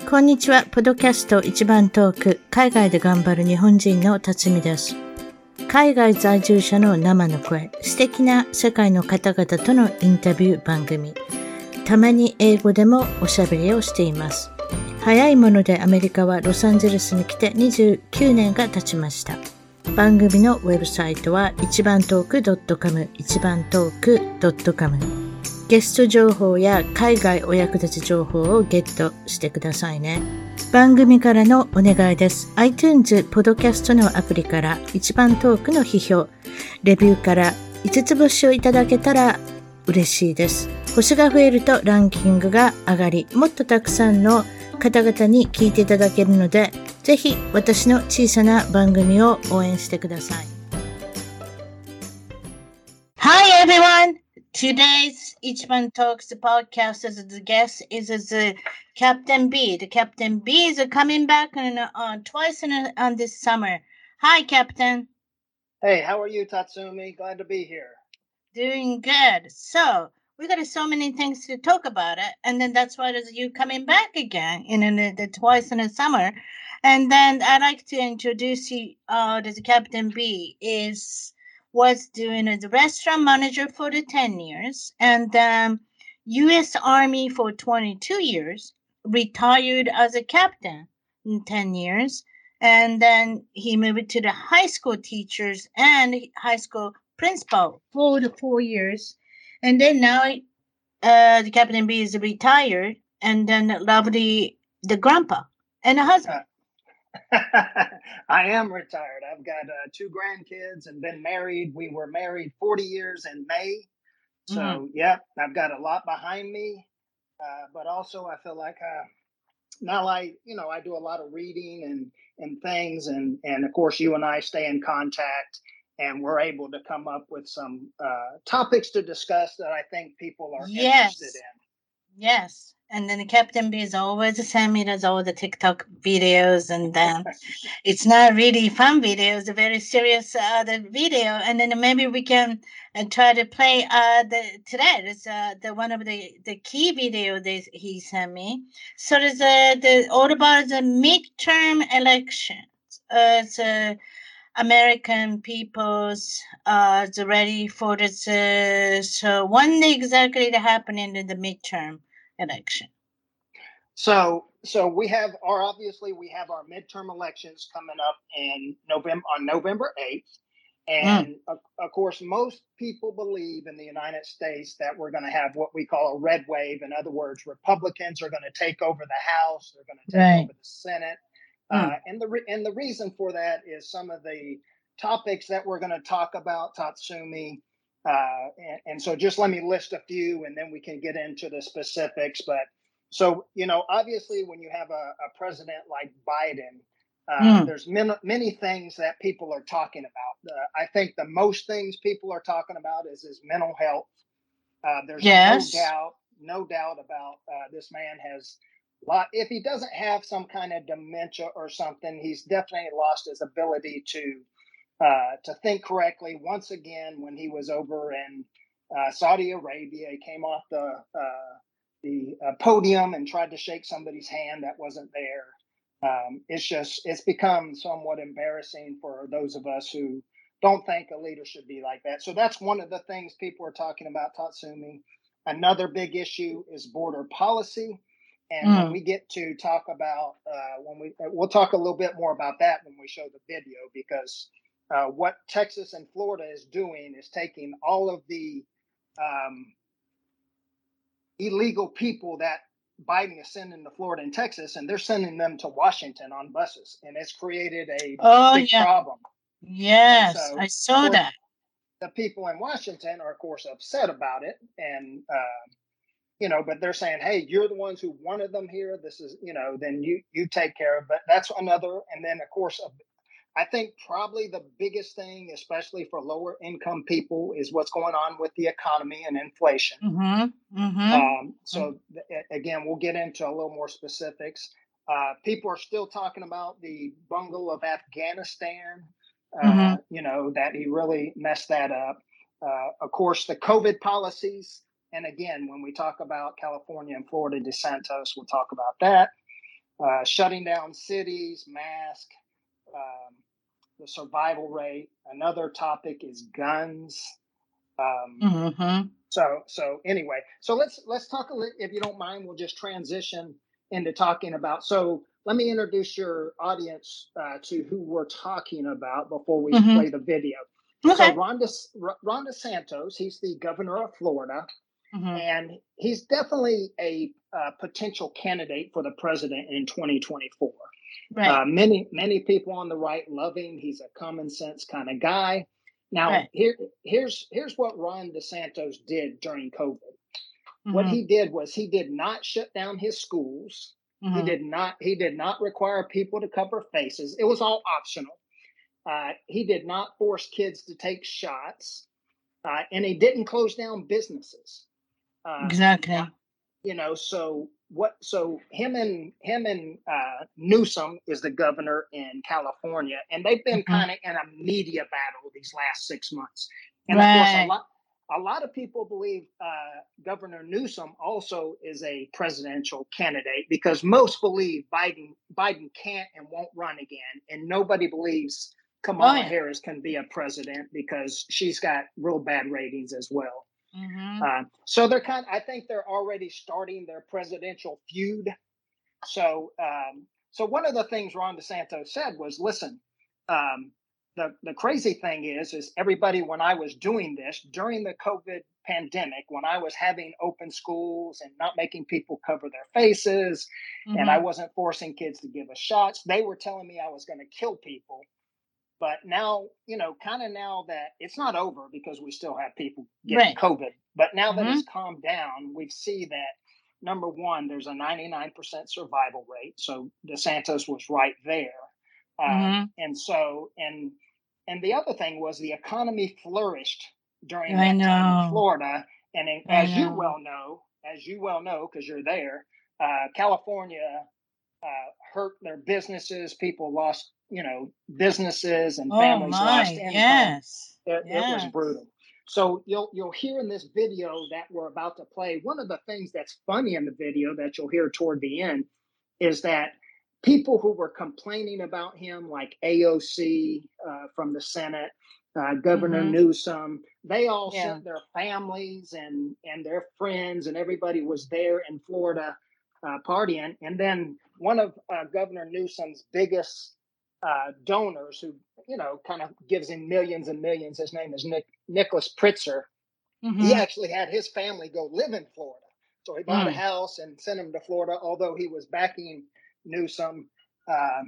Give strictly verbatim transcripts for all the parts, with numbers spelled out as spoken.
こんにちは。ポッドキャスト一番トーク、海外で頑張る日本人の辰巳です。海外在住者の生の声、素敵な世界の方々とのインタビュー番組。たまに英語でもおしゃべりをしています。早いものでアメリカはロサンゼルスに来てにじゅうきゅうねんが経ちました。番組のウェブサイトは一番トーク .com、一番トーク .com。ゲスト情報や海外お役立ち情報をゲットしてくださいね。番組からのお願いです。iTunes ポッドキャストのアプリから一番トークの批評、レビューからいつつ星をいただけたら嬉しいです。星が増えるとランキングが上がり、もっとたくさんの方々に聞いていただけるので、ぜひ私の小さな番組を応援してください。Hi everyone!Today's Ichiban Talks podcast as the guest is the Captain B. The Captain B is coming back on, uh, twice in a, on this summer. Hi, Captain. Hey, how are you, Tatsumi? Glad to be here. Doing good. So we got so many things to talk about it, and then that's why there's you coming back again in, in the, the twice in the summer. And then I'd like to introduce you. Uh, the Captain B is.was doing as a restaurant manager for the ten years and um, U S Army for twenty-two years, retired as a captain in ten years, and then he moved to the high school teachers and high school principal for the four years. And then now uh, the Captain B is retired and then love the, the grandpa and the husband. I am retired. I've got uh, two grandkids and been married. We were married forty years in May. So, mm-hmm. yeah, I've got a lot behind me. Uh, but also I feel like uh, now I, you know, I do a lot of reading and, and things. And, and of course, you and I stay in contact and we're able to come up with some uh, topics to discuss that I think people are yes. interested in. Yes. And then the Captain B is always send me those all the TikTok videos, and then it's not really fun videos, a very serious uh, the video. And then maybe we can uh, try to play uh, the today. It's uh, the one of the, the key video that he sent me. So there's a the all about the midterm elections. Uh, it's uh, American people's uh ready for this. Uh, so when exactly the happening in the midterm election? So, so we have our obviously we have our midterm elections coming up in November on November eighth, and mm. of, of course, most people believe in the United States that we're going to have what we call a red wave. In other words, Republicans are going to take over the House, they're going to take right. over the Senate, mm. uh, and the re- and the reason for that is some of the topics that we're going to talk about, Tatsumi. Uh, and, and so just let me list a few and then we can get into the specifics. But so, you know, obviously when you have a, a president like Biden, uh, mm. there's many, many things that people are talking about. Uh, I think the most things people are talking about is his mental health. Uh, there's yes. no doubt, no doubt about uh, this man has lot. If he doesn't have some kind of dementia or something, he's definitely lost his ability to Uh, to think correctly. Once again, when he was over in uh, Saudi Arabia, he came off the uh, the uh, podium and tried to shake somebody's hand that wasn't there. Um, it's just, it's become somewhat embarrassing for those of us who don't think a leader should be like that. So that's one of the things people are talking about, Tatsumi. Another big issue is border policy. And mm. when we get to talk about, uh, when we, we'll talk a little bit more about that when we show the video, because Uh, what Texas and Florida is doing is taking all of the um, illegal people that Biden is sending to Florida and Texas, and they're sending them to Washington on buses, and it's created a oh, big yeah. problem. Yes, so, I saw course, that. The people in Washington are, of course, upset about it, and uh, you know, but they're saying, "Hey, you're the ones who wanted them here. This is, you know, then you you take care of." But that's another, and then of course. A, I think probably the biggest thing, especially for lower income people, is what's going on with the economy and inflation. Mm-hmm. Mm-hmm. Um, so th- again, we'll get into a little more specifics. Uh, people are still talking about the bungle of Afghanistan, uh, mm-hmm. you know, that he really messed that up. Uh, of course, the COVID policies. And again, when we talk about California and Florida DeSantis, we'll talk about that. uh, shutting down cities, mask, um, the survival rate. Another topic is guns. Um, Mm-hmm. so so anyway, so let's let's talk a little. If you don't mind, we'll just transition into talking about. So let me introduce your audience uh, to who we're talking about before we Mm-hmm. play the video. Okay. So Ron, De, Ron DeSantis, he's the governor of Florida, mm-hmm. and he's definitely a uh, potential candidate for the president in twenty twenty-four. Right. Uh, many many people on the right love him. He's a common sense kind of guy. Now, right. here here's here's what Ron DeSantis did during COVID. Mm-hmm. What he did was he did not shut down his schools. Mm-hmm. He did not he did not require people to cover faces. It was all optional. Uh, he did not force kids to take shots, uh, and he didn't close down businesses. Uh, exactly. Now, you know, so what? So him and him and uh, Newsom is the governor in California, and they've been mm-hmm. kind of in a media battle these last six months. And right. of course, a lot a lot of people believe uh, Governor Newsom also is a presidential candidate because most believe Biden Biden can't and won't run again, and nobody believes Kamala oh, yeah. Harris can be a president because she's got real bad ratings as well. Mm-hmm. Uh, so they're kind of, I think they're already starting their presidential feud. So, um, so one of the things Ron DeSantis said was, listen, um, the, the crazy thing is, is everybody, when I was doing this during the COVID pandemic, when I was having open schools and not making people cover their faces, mm-hmm. and I wasn't forcing kids to give us shots, they were telling me I was going to kill people. But now, you know, kind of now that it's not over because we still have people getting right. COVID, but now mm-hmm. that it's calmed down, we see that, number one, there's a ninety-nine percent survival rate. So DeSantis was right there. Mm-hmm. Uh, and so, and and the other thing was the economy flourished during I that know. time in Florida. And in, as know. you well know, as you well know, because you're there, uh, California uh, hurt their businesses. People lost you know, businesses and families oh my, lost income. Yes. It, yes. it was brutal. So you'll you'll hear in this video that we're about to play, one of the things that's funny in the video that you'll hear toward the end is that people who were complaining about him, like A O C uh, from the Senate, uh, Governor mm-hmm. Newsom, they all yeah. sent their families and, and their friends, and everybody was there in Florida uh, partying. And then one of uh, Governor Newsom's biggest Uh, donors who, you know, kind of gives him millions and millions. His name is Nick, Nicholas Pritzker. Mm-hmm. He actually had his family go live in Florida. So he bought mm. a house and sent him to Florida, although he was backing Newsom um,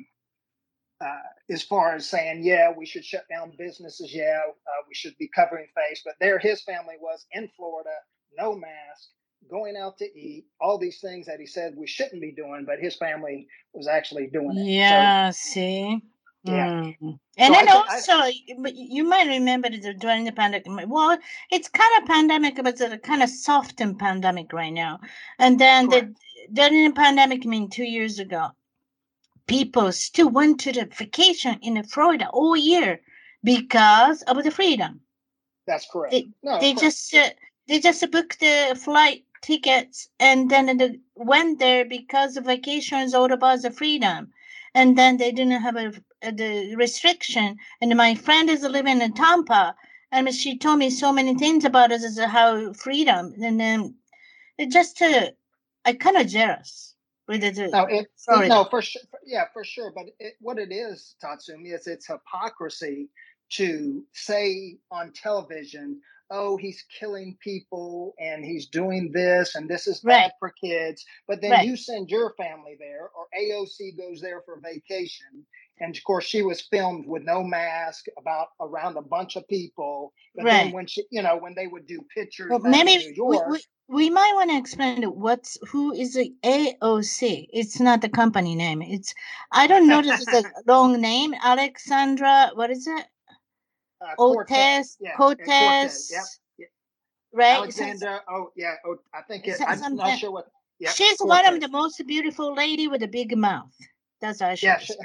uh, as far as saying, yeah, we should shut down businesses. Yeah, uh, we should be covering face. But there his family was in Florida, no mask, going out to eat, all these things that he said we shouldn't be doing, but his family was actually doing it. Yeah, so, see? Yeah. Mm. And so then I, also, I, you might remember that during the pandemic, well, it's kind of pandemic, but it's a kind of softened pandemic right now. And then the, during the pandemic, I mean, two years ago, people still went to the vacation in Florida all year because of the freedom. That's correct. They, no, they correct. just uh, they just booked the flight tickets and then they went there because the vacation is all about the freedom. And then they didn't have a, a the restriction. And my friend is living in Tampa, and she told me so many things about it, as how freedom. And then it just uh, I kind of jealous with it. No, it, it, no, for sure. Yeah, for sure. But it, what it is, Tatsumi, is it's hypocrisy to say on television, oh, he's killing people and he's doing this and this is bad right. for kids. But then right. you send your family there, or A O C goes there for vacation. And of course, she was filmed with no mask about around a bunch of people. But right. then when she, you know, when they would do pictures well, back in New York. We, we, we might want to explain what's who is the A O C. It's not the company name. It's I don't know. This is a long name. Alexandra, what is it? Uh, Cortez, yeah, Cortez, Cortez. Yep. Yep. Right? Alexander. Oh, yeah. Oh, I think it, I'm something. not sure what. Yep, She's Cortez. one of the most beautiful lady with a big mouth. That's how she yeah, is. She,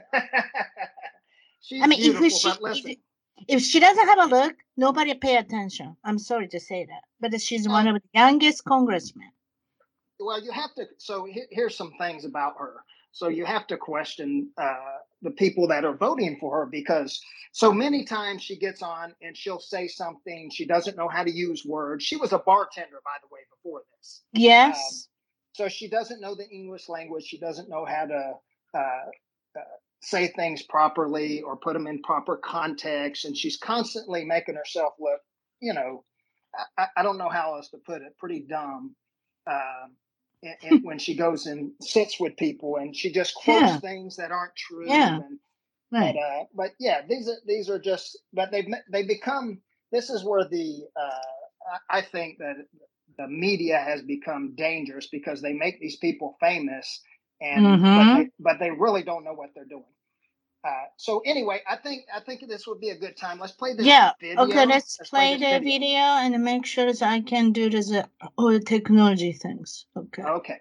she's I mean, beautiful, if she, but listen. If, if she doesn't have a look, nobody pay attention. I'm sorry to say that, but she's no. one of the youngest congressmen. well, you have to. So here, here's some things about her. So you have to question uh, the people that are voting for her, because so many times she gets on and she'll say something, she doesn't know how to use words. She was a bartender, by the way, before this. Um, Yes. so she doesn't know the English language. She doesn't know how to uh, uh, say things properly or put them in proper context. And she's constantly making herself look, you know, I, I don't know how else to put it, pretty dumb. Uh, and, and when she goes and sits with people, and she just quotes Yeah. things that aren't true. Yeah. And Right. but uh, but yeah, these are these are just. But they've they become. This is where the uh, I think that the media has become dangerous, because they make these people famous, and but Mm-hmm. they but they really don't know what they're doing. Uh, so anyway, I think I think this would be a good time. Let's play this Yeah. video. Okay, let's Let's play this the video and make sure that I can do this uh, all the technology things. Okay. Okay.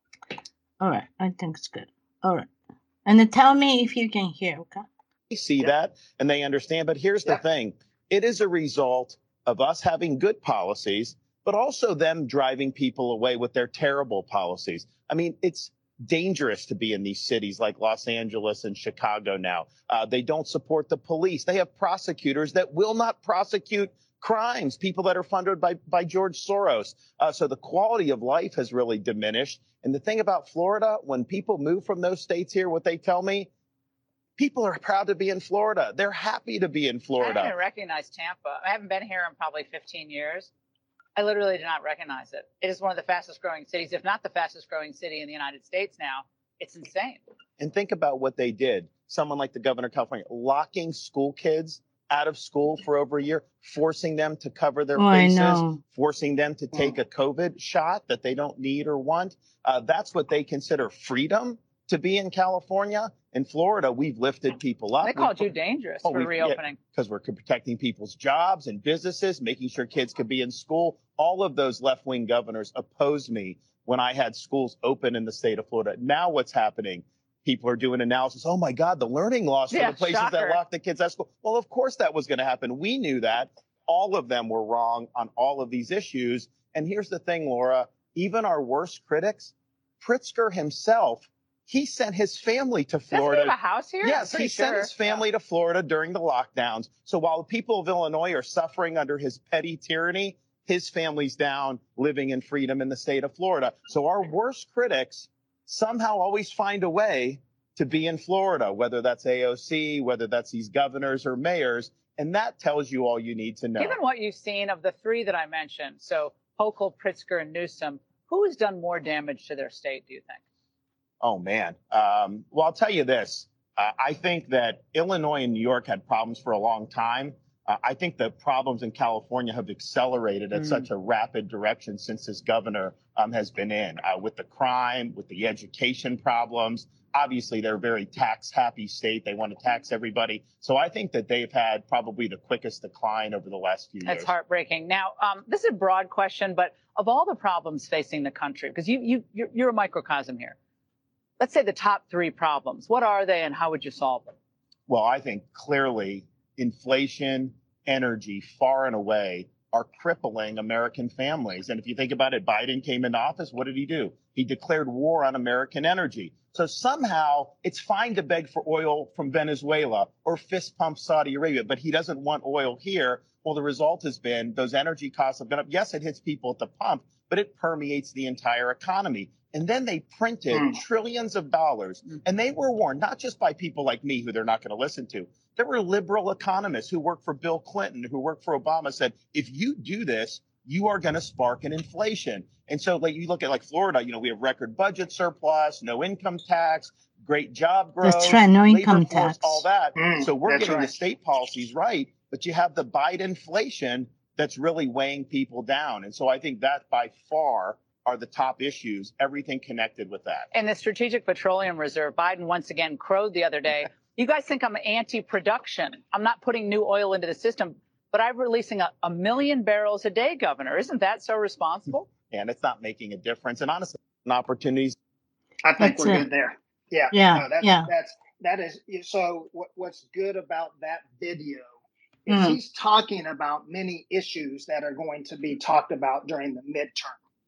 All right. I think it's good. All right. And then tell me if you can hear, okay? They see Yep. that and they understand. But here's the Yep. thing. It is a result of us having good policies, but also them driving people away with their terrible policies. I mean, it's dangerous to be in these cities like Los Angeles and Chicago now. Uh, they don't support the police. They have prosecutors that will not prosecute crimes, people that are funded by, by George Soros. Uh, so the quality of life has really diminished. And the thing about Florida, when people move from those states here, what they tell me, people are proud to be in Florida. They're happy to be in Florida. I didn't recognize Tampa. I haven't been here in probably fifteen years. I literally did not recognize it. It is one of the fastest growing cities, if not the fastest growing city in the United States now. It's insane. And think about what they did. Someone like the governor of California, locking school kids out of school for over a year, forcing them to cover their Oh, I faces, know. forcing them to take a COVID shot that they don't need or want. Uh, that's what they consider freedom to be in California. In Florida, we've lifted people up. They called We've- you dangerous Oh, for we- yeah, reopening. because we're protecting people's jobs and businesses, making sure kids could be in school. All of those left-wing governors opposed me when I had schools open in the state of Florida. Now what's happening? People are doing analysis. Oh, my God, the learning loss for Yeah, the places shocker. that lock the kids out of school. Well, of course that was going to happen. We knew that. All of them were wrong on all of these issues. And here's the thing, Laura, even our worst critics, Pritzker himself, he sent his family to Doesn't he Florida. have a house here? Yes, I'm pretty he sent sure. his family to Florida during the lockdowns. So while the people of Illinois are suffering under his petty tyranny, his family's down living in freedom in the state of Florida. So our worst critics somehow always find a way to be in Florida, whether that's A O C, whether that's these governors or mayors. And that tells you all you need to know. Given what you've seen of the three that I mentioned, so Hochul, Pritzker, and Newsom, who has done more damage to their state, do you think? Oh, man. Um, well, I'll tell you this. Uh, I think that Illinois and New York had problems for a long time. Uh, I think the problems in California have accelerated at Mm. such a rapid direction since this governor um, has been in, uh, with the crime, with the education problems. Obviously, they're a very tax-happy state. They want to tax everybody. So I think that they've had probably the quickest decline over the last few years. That's heartbreaking. Now, um, this is a broad question, but of all the problems facing the country, because you, you, you're, you're a microcosm here, let's say the top three problems. What are they and how would you solve them? Well, I think clearly inflation, energy, far and away are crippling American families. And if you think about it, Biden came into office. What did he do? He declared war on American energy. So somehow it's fine to beg for oil from Venezuela or fist pump Saudi Arabia, but he doesn't want oil here. Well, the result has been those energy costs have gone up. Yes, it hits people at the pump, but it permeates the entire economy. And then they printed Mm. trillions of dollars. And they were warned, not just by people like me who they're not going to listen to. There were liberal economists who worked for Bill Clinton, who worked for Obama, said, if you do this, you are going to spark an inflation. And so like you look at like Florida, you know, we have record budget surplus, no income tax, great job growth, That's right, no labor income force, tax. all that. Mm, So we're that's getting right. the state policies right, but you have the Biden inflation that's really weighing people down. And so I think that by far are the top issues, everything connected with that. And the Strategic Petroleum Reserve, Biden once again crowed the other day. You guys think I'm anti-production. I'm not putting new oil into the system, but I'm releasing a, a million barrels a day, Governor. Isn't that so responsible? And it's not making a difference. And honestly, opportunities. I think That's we're it. good there. Yeah. Yeah, No, that's, yeah. That's that is so. What, what's good about that video is Mm. he's talking about many issues that are going to be talked about during the midterm.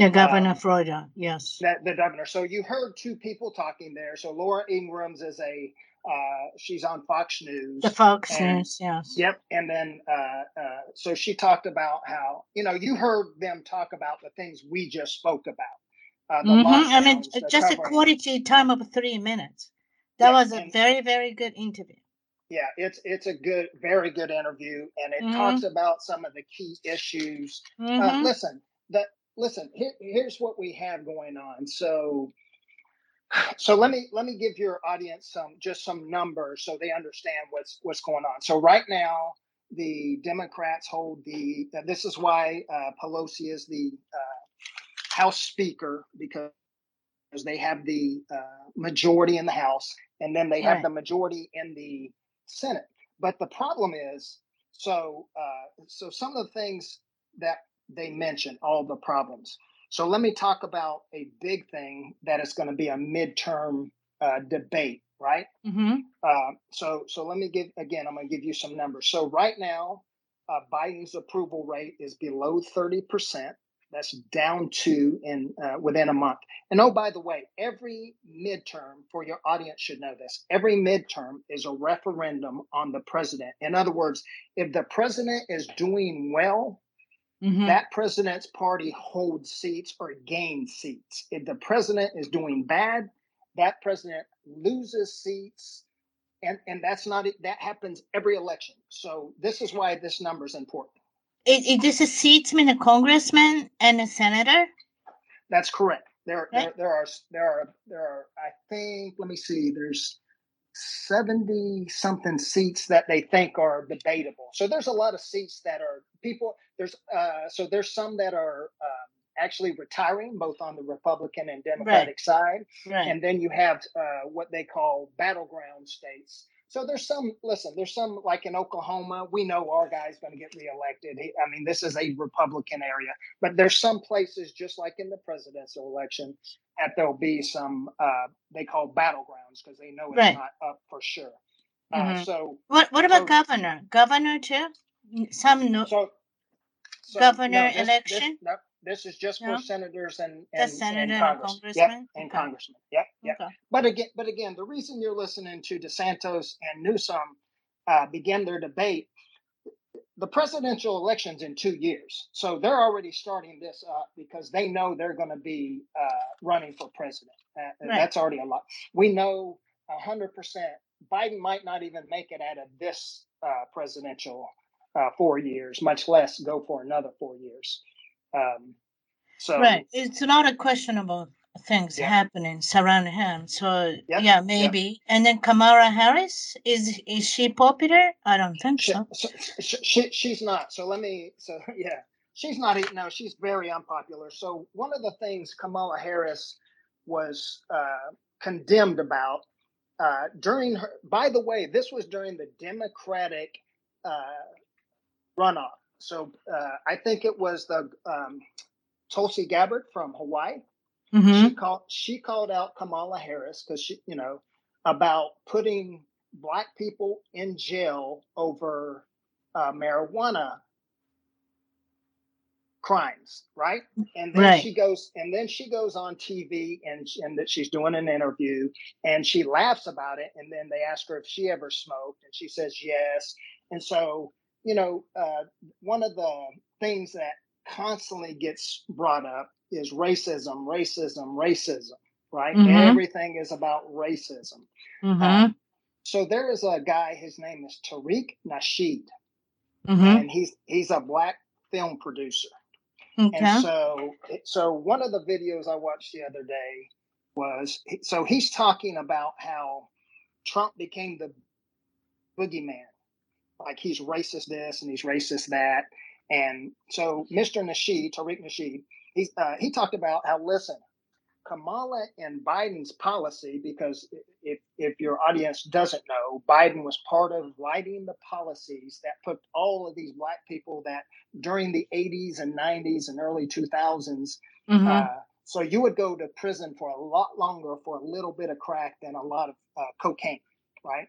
The governor um, of Florida, yes. That the governor. So you heard two people talking there. So Laura Ingrams is a uh, she's on Fox News. The Fox and, News, yes. Yep. And then uh, uh, so she talked about how, you know, you heard them talk about the things we just spoke about. Uh, the Mm-hmm. lockdowns, I mean, the just a covering. quality time of three minutes. That Yeah, was a and- very, very good interview. Yeah, it's it's a good, very good interview, and it Mhm. talks about some of the key issues. Uh, Mhm. listen, that listen. Here, here's what we have going on. So, so let me let me give your audience some just some numbers so they understand what's what's going on. So right now, the Democrats hold the. Uh, this is why uh, Pelosi is the uh, House Speaker, because they have the uh, majority in the House, and then they have Right. the majority in the Senate. But the problem is, so uh, so some of the things that they mention, all the problems. So let me talk about a big thing that is going to be a midterm uh, debate, right? Mm-hmm. Uh, so so let me give again. I'm going to give you some numbers. So right now, uh, Biden's approval rate is below thirty percent. That's down to in uh, within a month. And oh, by the way, every midterm, for your audience should know this, every midterm is a referendum on the president. In other words, if the president is doing well, Mm-hmm. that president's party holds seats or gains seats. If the president is doing bad, that president loses seats. And, and that's not it. That happens every election. So this is why this number is important. It, it, this is seats mean a congressman and a senator? That's correct. There, Right. there, there are, there are, there are. I think. Let me see. There's seventy something seats that they think are debatable. So there's a lot of seats that are people. There's, uh, so there's some that are um, actually retiring, both on the Republican and Democratic side, Right. and then you have uh, what they call battleground states. So there's some. Listen, there's some like in Oklahoma. We know our guy's going to get reelected. He, I mean, this is a Republican area. But there's some places, just like in the presidential election, that there'll be some uh, they call battlegrounds because they know it's Right. not up for sure. Mhm. Uh, so What What about so- governor? Governor too? Some no. so, so Governor no, this, election? This, no, this is just No? for senators and The and, senator and and Congress. congressman? Yep, and Okay. congressman. Yep, yep. Okay. But again, but again, the reason you're listening to DeSantis and Newsom uh, begin their debate, the presidential election's in two years, so they're already starting this up because they know they're going to be uh, running for president. Uh, Right. That's already a lot. We know a hundred percent Biden might not even make it out of this uh, presidential uh, four years, much less go for another four years. Um, so Right. It's a lot of questionable things Yeah. happening surrounding him. So Yep, yeah, maybe. And then Kamala Harris, is is she popular? I don't think she, so. so, she, she she's not. So let me. So yeah, she's not. e- No, she's very unpopular. So one of the things Kamala Harris was uh, condemned about uh, during her. By the way, this was during the Democratic uh, runoff. So uh, I think it was the um, Tulsi Gabbard from Hawaii. Mm-hmm. She called she called out Kamala Harris because she, you know, about putting black people in jail over uh, marijuana crimes, right? And then Right. she goes and then she goes on T V and and that she's doing an interview and she laughs about it. And then they ask her if she ever smoked, and she says yes. And so, you know, uh, one of the things that constantly gets brought up is racism, racism, racism, right? Mhm. Everything is about racism. Mm-hmm. Um, so there is a guy, his name is Tariq Nasheed, Mm-hmm. and he's he's a black film producer. Okay. And so, so one of the videos I watched the other day was, so he's talking about how Trump became the boogeyman, like he's racist this and he's racist that. And so Mister Nasheed, Tariq Nasheed, he's, uh, he talked about how, listen, Kamala and Biden's policy, because if, if your audience doesn't know, Biden was part of writing the policies that put all of these black people that during the eighties and nineties and early two thousands, Mm-hmm. uh, so you would go to prison for a lot longer for a little bit of crack than a lot of uh, cocaine, right?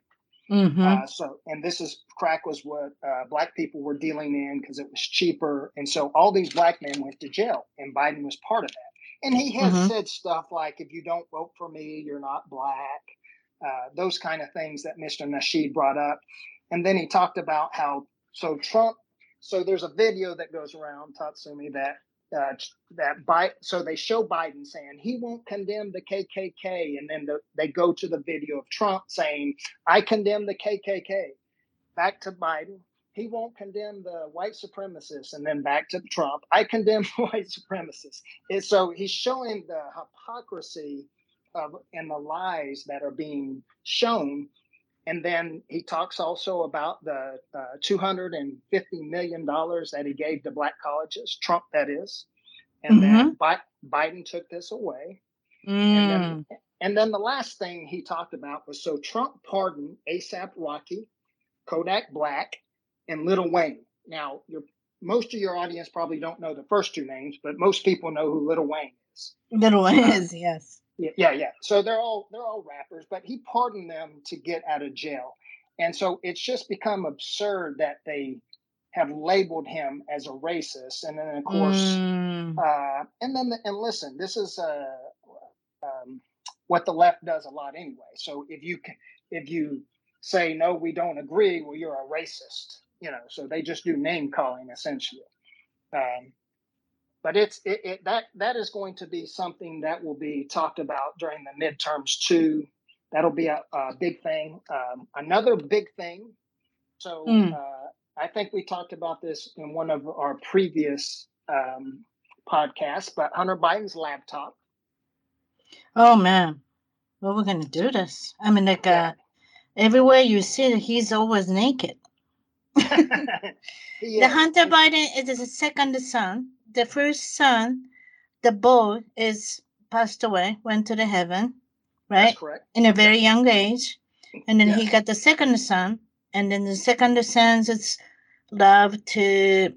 Mm-hmm. Uh, so, and this is crack was what uh, black people were dealing in because it was cheaper. And so all these black men went to jail, and Biden was part of that. And he has Mm-hmm. said stuff like, if you don't vote for me, you're not black, uh, those kind of things that Mister Nasheed brought up. And then he talked about how, so Trump, so there's a video that goes around, Tatsumi, that Uh, that Biden, so they show Biden saying he won't condemn the K K K, and then the, they go to the video of Trump saying, I condemn the K K K. Back to Biden, he won't condemn the white supremacists, and then back to Trump, I condemn white supremacists. And so he's showing the hypocrisy of and the lies that are being shown. And then he talks also about the uh, two hundred fifty million dollars that he gave to black colleges, Trump that is, and Mm-hmm. that Bi- Biden took this away. Mm. And then and then the last thing he talked about was, so Trump pardoned ASAP Rocky, Kodak Black, and Lil Wayne. Now, your, most of your audience probably don't know the first two names, but most people know who Lil Wayne is. Lil Wayne Uh, is, yes. Yeah, yeah. So they're all they're all rappers, but he pardoned them to get out of jail, and so it's just become absurd that they have labeled him as a racist, and then of course, Mm. uh, and then the, and listen, this is uh, um, what the left does a lot anyway. So if you if you say no, we don't agree, well, you're a racist, you know. So they just do name calling essentially. Um, But it's it, it that that is going to be something that will be talked about during the midterms too. That'll be a, a big thing. Um, another big thing. So Mm. uh, I think we talked about this in one of our previous um, podcasts. But Hunter Biden's laptop. Oh man, well, we're gonna do this. I mean, like, Yeah. uh, everywhere you see it, he's always naked. He The is. Hunter And Biden is the second son. The first son, the boy, is passed away, went to the heaven, that's right, correct. in a Yep. very young age. And then he Yes. got the second son, and then the second son's it's love to,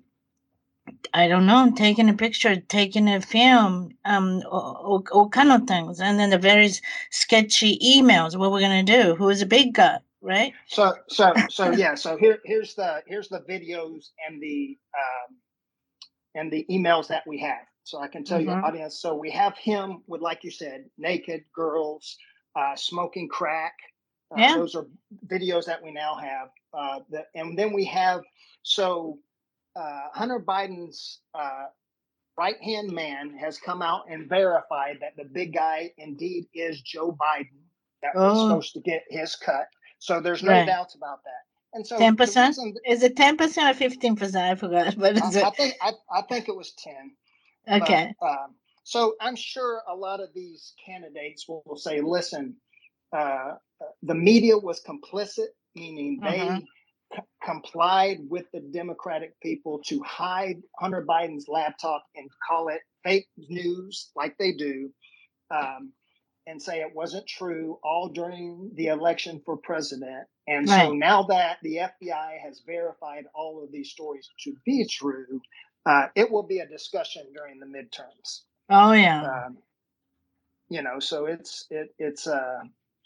I don't know, taking a picture, taking a film, um, all, all kind of things, and then the very sketchy emails. What we're gonna do? Who is a big guy, right? So so so yeah. So here here's the here's the videos and the um, and the emails that we have. So I can tell Mm-hmm. your audience. So we have him with, like you said, naked girls, uh, smoking crack. Uh, Yeah. Those are videos that we now have. Uh, the, and then we have, so uh, Hunter Biden's uh, right-hand man has come out and verified that the big guy indeed is Joe Biden that was Oh, supposed to get his cut. So there's no right. doubts about that. And so Ten the percent? reason Is it ten percent or fifteen percent? I forgot. But I, is I it think I, I think it was ten. okay? But um, so I'm sure a lot of these candidates will, will say, listen, uh, the media was complicit, meaning they Mm-hmm. c- complied with the Democratic people to hide Hunter Biden's laptop and call it fake news like they do, um, and say it wasn't true all during the election for president. And so Right. now that the F B I has verified all of these stories to be true, uh, it will be a discussion during the midterms. Oh yeah. Um, you know, so it's it it's uh,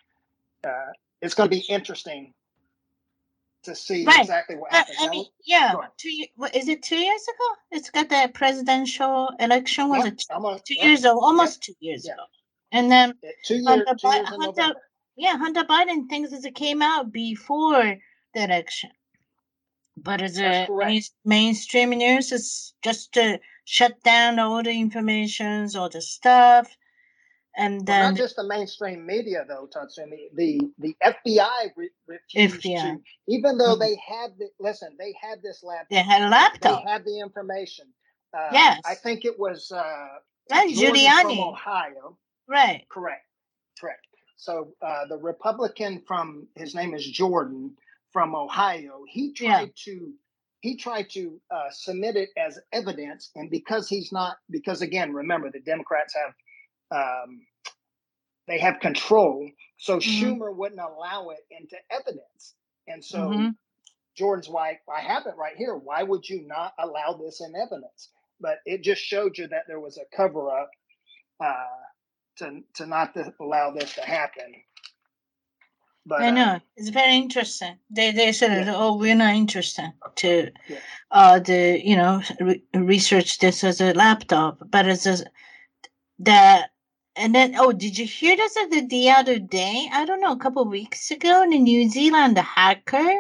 uh, it's going to be interesting to see Right. exactly what I, happens. I Now, mean, yeah. go ahead. Two. ye- What is it? Two years ago? It's got the presidential election. Was Yep, it two, I'm a, two yep, years ago? yep, Almost two years yeah. ago. And then It- two years, Hunter, two Bi- years in Hunter, November. yeah, Hunter Biden thinks that it came out before the election, but it's That's a correct. main, mainstream news is just to shut down all the informations, all the stuff, and Well, then not just the mainstream media, though, Tatsumi. The the F B I re- refused F B I. to, even though Mhm. they had the listen, they had this laptop, They had a they laptop. had the information. Uh, Yes. I think it was uh, Right, Jordan from Giuliani. Ohio. Right. Correct, correct. So uh, the Republican from his name is Jordan from Ohio. He Yeah. tried to he tried to uh, submit it as evidence, and because he's not, because again, remember the Democrats have. Um, They have control, so Mhm. Schumer wouldn't allow it into evidence. And so Mhm. Jordan's like, I have it right here. Why would you not allow this in evidence? But it just showed you that there was a cover up uh, to to not to allow this to happen. But I know um, it's very interesting. They they said, yeah, "Oh, we're not interested to yeah. uh the you know re- research this as a laptop, but as a the and then oh, did you hear this the, the other day? I don't know, a couple of weeks ago in New Zealand, a hacker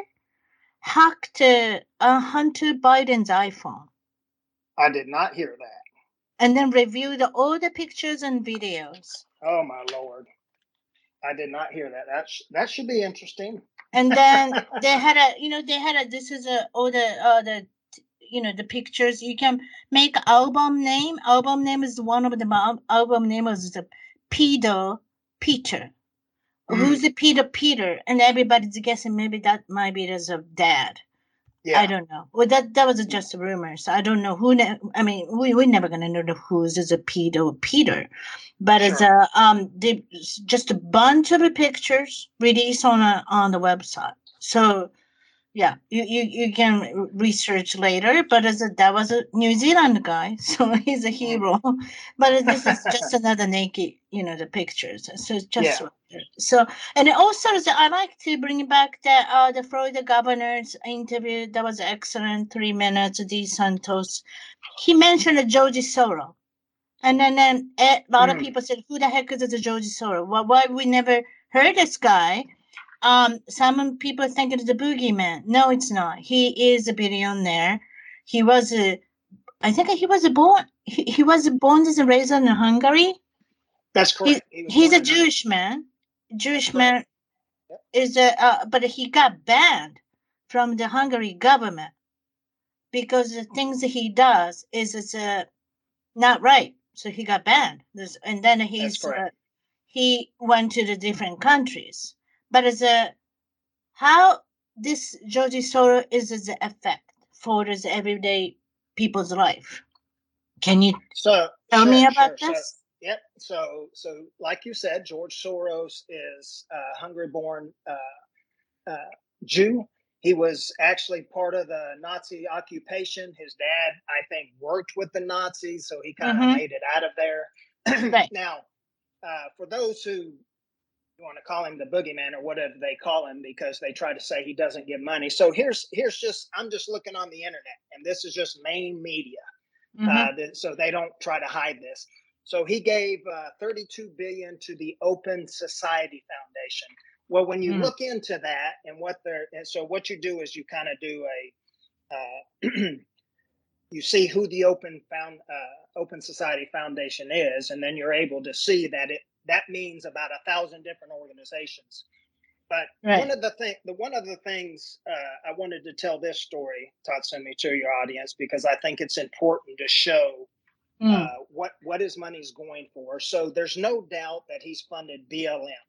hacked uh, uh, Hunter Biden's iPhone I did not hear that. and then reviewed all the pictures and videos. Oh my lord, I did not hear that. That sh- that should be interesting. And then they had a, you know, they had a. This is a all the uh the, you know, the pictures. You can make album name. Album name is one of the al- album name is the Peter Peter. Who's Mm, the Peter Peter? And everybody's guessing maybe that might be as a dad. I yeah, don't know. Well, that that was yeah, just a rumor, so I don't know who. Ne- I mean, we we're never gonna know the who's is a Peter or Peter, but it's sure. a um, they, just a bunch of pictures released on a on the website. So yeah, you, you, you can research later, but as a, that was a New Zealand guy, so he's a Mm. hero. But this is just another naked, you know, the pictures. So it's just Yeah, so, and also is- I like to bring back the uh, the Florida governor's interview. That was excellent, three minutes. D. Santos, he mentioned George Soros, and then then a lot of mm, people said, "Who the heck is this George Soros? Why why we never heard this guy?" Um, some people think it's the boogeyman. No, it's not. He is a billionaire. He was a, I think he was a born, he, he was born and raised in Hungary. that's He, correct. He was he's born a in Hungary. Jewish man. Jewish Correct. man Yep. is a, uh, but he got banned from the Hungary government because the things that he does is it's uh, not right. So he got banned. There's, and then That's he's correct. uh, he went to the different countries. But as a how this Georgie Soros is the effect for this everyday people's life. Can you So tell me sure, about sure. So this? yep. So so like you said, George Soros is a Hungary-born uh, uh, Jew. He was actually part of the Nazi occupation. His dad, I think, worked with the Nazis, so he kind of Mm-hmm. made it out of there. Right. Now, uh, for those who you want to call him the boogeyman or whatever they call him because they try to say he doesn't give money. So here's here's just I'm just looking on the internet, and this is just main media, Mm-hmm. uh, that, so they don't try to hide this. So he gave uh, thirty-two billion dollars to the Open Society Foundation. Well, when you Mm. look into that and what they're, and so what you do is you kind of do a, uh, you see who the Open Found uh, Open Society Foundation is, and then you're able to see that it that means about a thousand different organizations. But Right. one of the thing, the one of the things uh, I wanted to tell this story, Tatsumi, to your audience because I think it's important to show Mm. uh, what what his money's going for. So there's no doubt that he's funded B L M,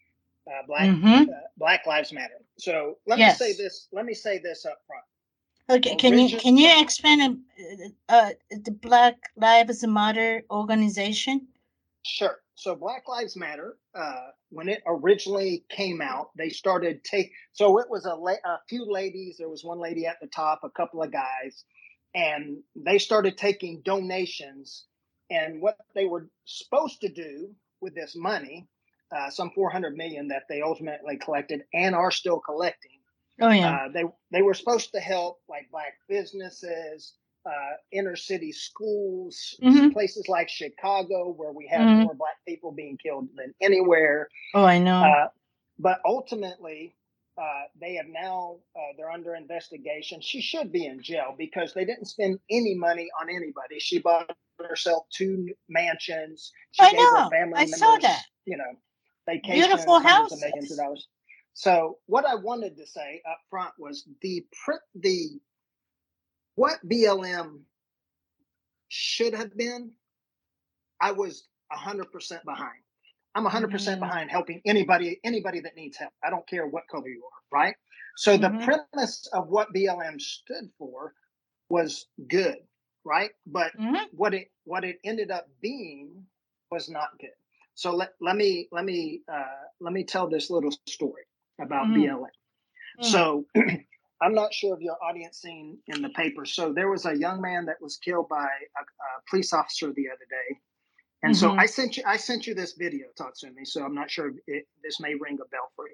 uh, Black Mm-hmm. uh, Black Lives Matter. So let Yes. me say this. Let me say this up front. Okay. Can you Origin- can you explain uh, uh, the Black Lives Matter organization? Sure. So Black Lives Matter, uh, when it originally came out, they started take. So it was a, la- a few ladies. There was one lady at the top, a couple of guys, and they started taking donations. And what they were supposed to do with this money, uh, some four hundred million that they ultimately collected and are still collecting. Oh yeah. Uh, they they were supposed to help like black businesses, uh, inner city schools, Mhm. places like Chicago, where we have Mhm. more black people being killed than anywhere. Oh, I know. Uh, but ultimately, uh, they have now uh, they're under investigation. She should be in jail because they didn't spend any money on anybody. She bought herself two mansions. She I gave her know. family I members, saw that. you know, vacations, Beautiful hundreds of millions of houses. dollars. So what I wanted to say up front was the the what B L M should have been. I was a hundred percent behind. I'm a hundred percent Mhm. behind helping anybody anybody that needs help. I don't care what color you are, right? So the Mhm. premise of what B L M stood for was good, right? But Mhm. what it what it ended up being was not good. So let, let me let me uh, let me tell this little story about Mhm. B L M. Mm. So I'm not sure if your audience seen in the paper. So there was a young man that was killed by a, a police officer the other day, and so Mhm. I sent you I sent you this video, Tatsumi. So I'm not sure if it, this may ring a bell for you.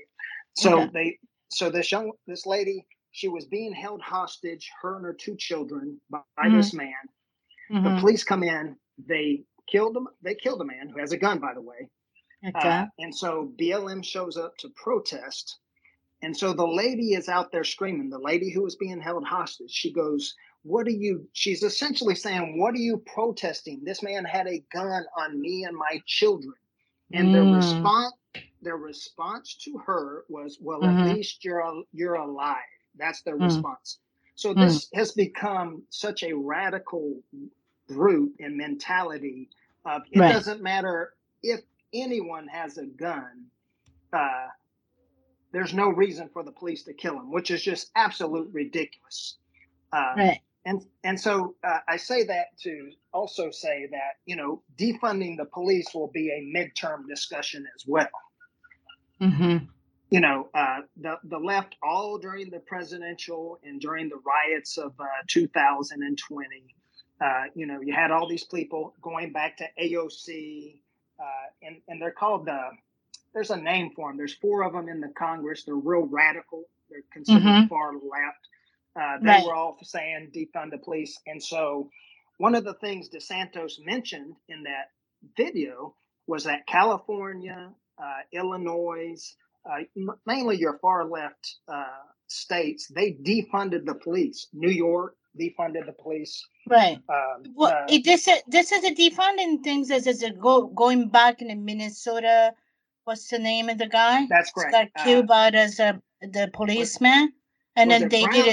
So Okay. they, so this young, this lady, she was being held hostage, her and her two children, by, by Mm-hmm. this man. The Mm-hmm. police come in, they killed him. They killed a man who has a gun, by the way. Okay. Uh, and so B L M shows up to protest. And so the lady is out there screaming, the lady who was being held hostage. She goes, what are you, she's essentially saying, what are you protesting? This man had a gun on me and my children. And their Mm. response, their response to her was, well, Mm-hmm. at least you're, you're alive. That's their Mm. response. So Mm. this has become such a radical root and mentality of, it Right. doesn't matter if anyone has a gun, uh, there's no reason for the police to kill him, which is just absolute ridiculous. Um, Right. and and so uh, I say that to also say that, you know, defunding the police will be a midterm discussion as well. Mm-hmm. You know, uh, the the left, all during the presidential and during the riots of uh, two thousand twenty, uh, you know, you had all these people going back to A O C, uh, and and they're called the. There's a name for them. There's four of them in the Congress. They're real radical. They're considered Mm-hmm. far left. Uh, they Right. were all saying defund the police. And so one of the things DeSantis mentioned in that video was that California, uh, Illinois, uh, m- mainly your far left uh, states, they defunded the police. New York defunded the police. Right. Um, Well, uh, it, this this is a defunding things. This is a go going back in Minnesota. What's the name of the guy? that's He correct. got Uh, killed by as a the policeman, and was then it they Brown? did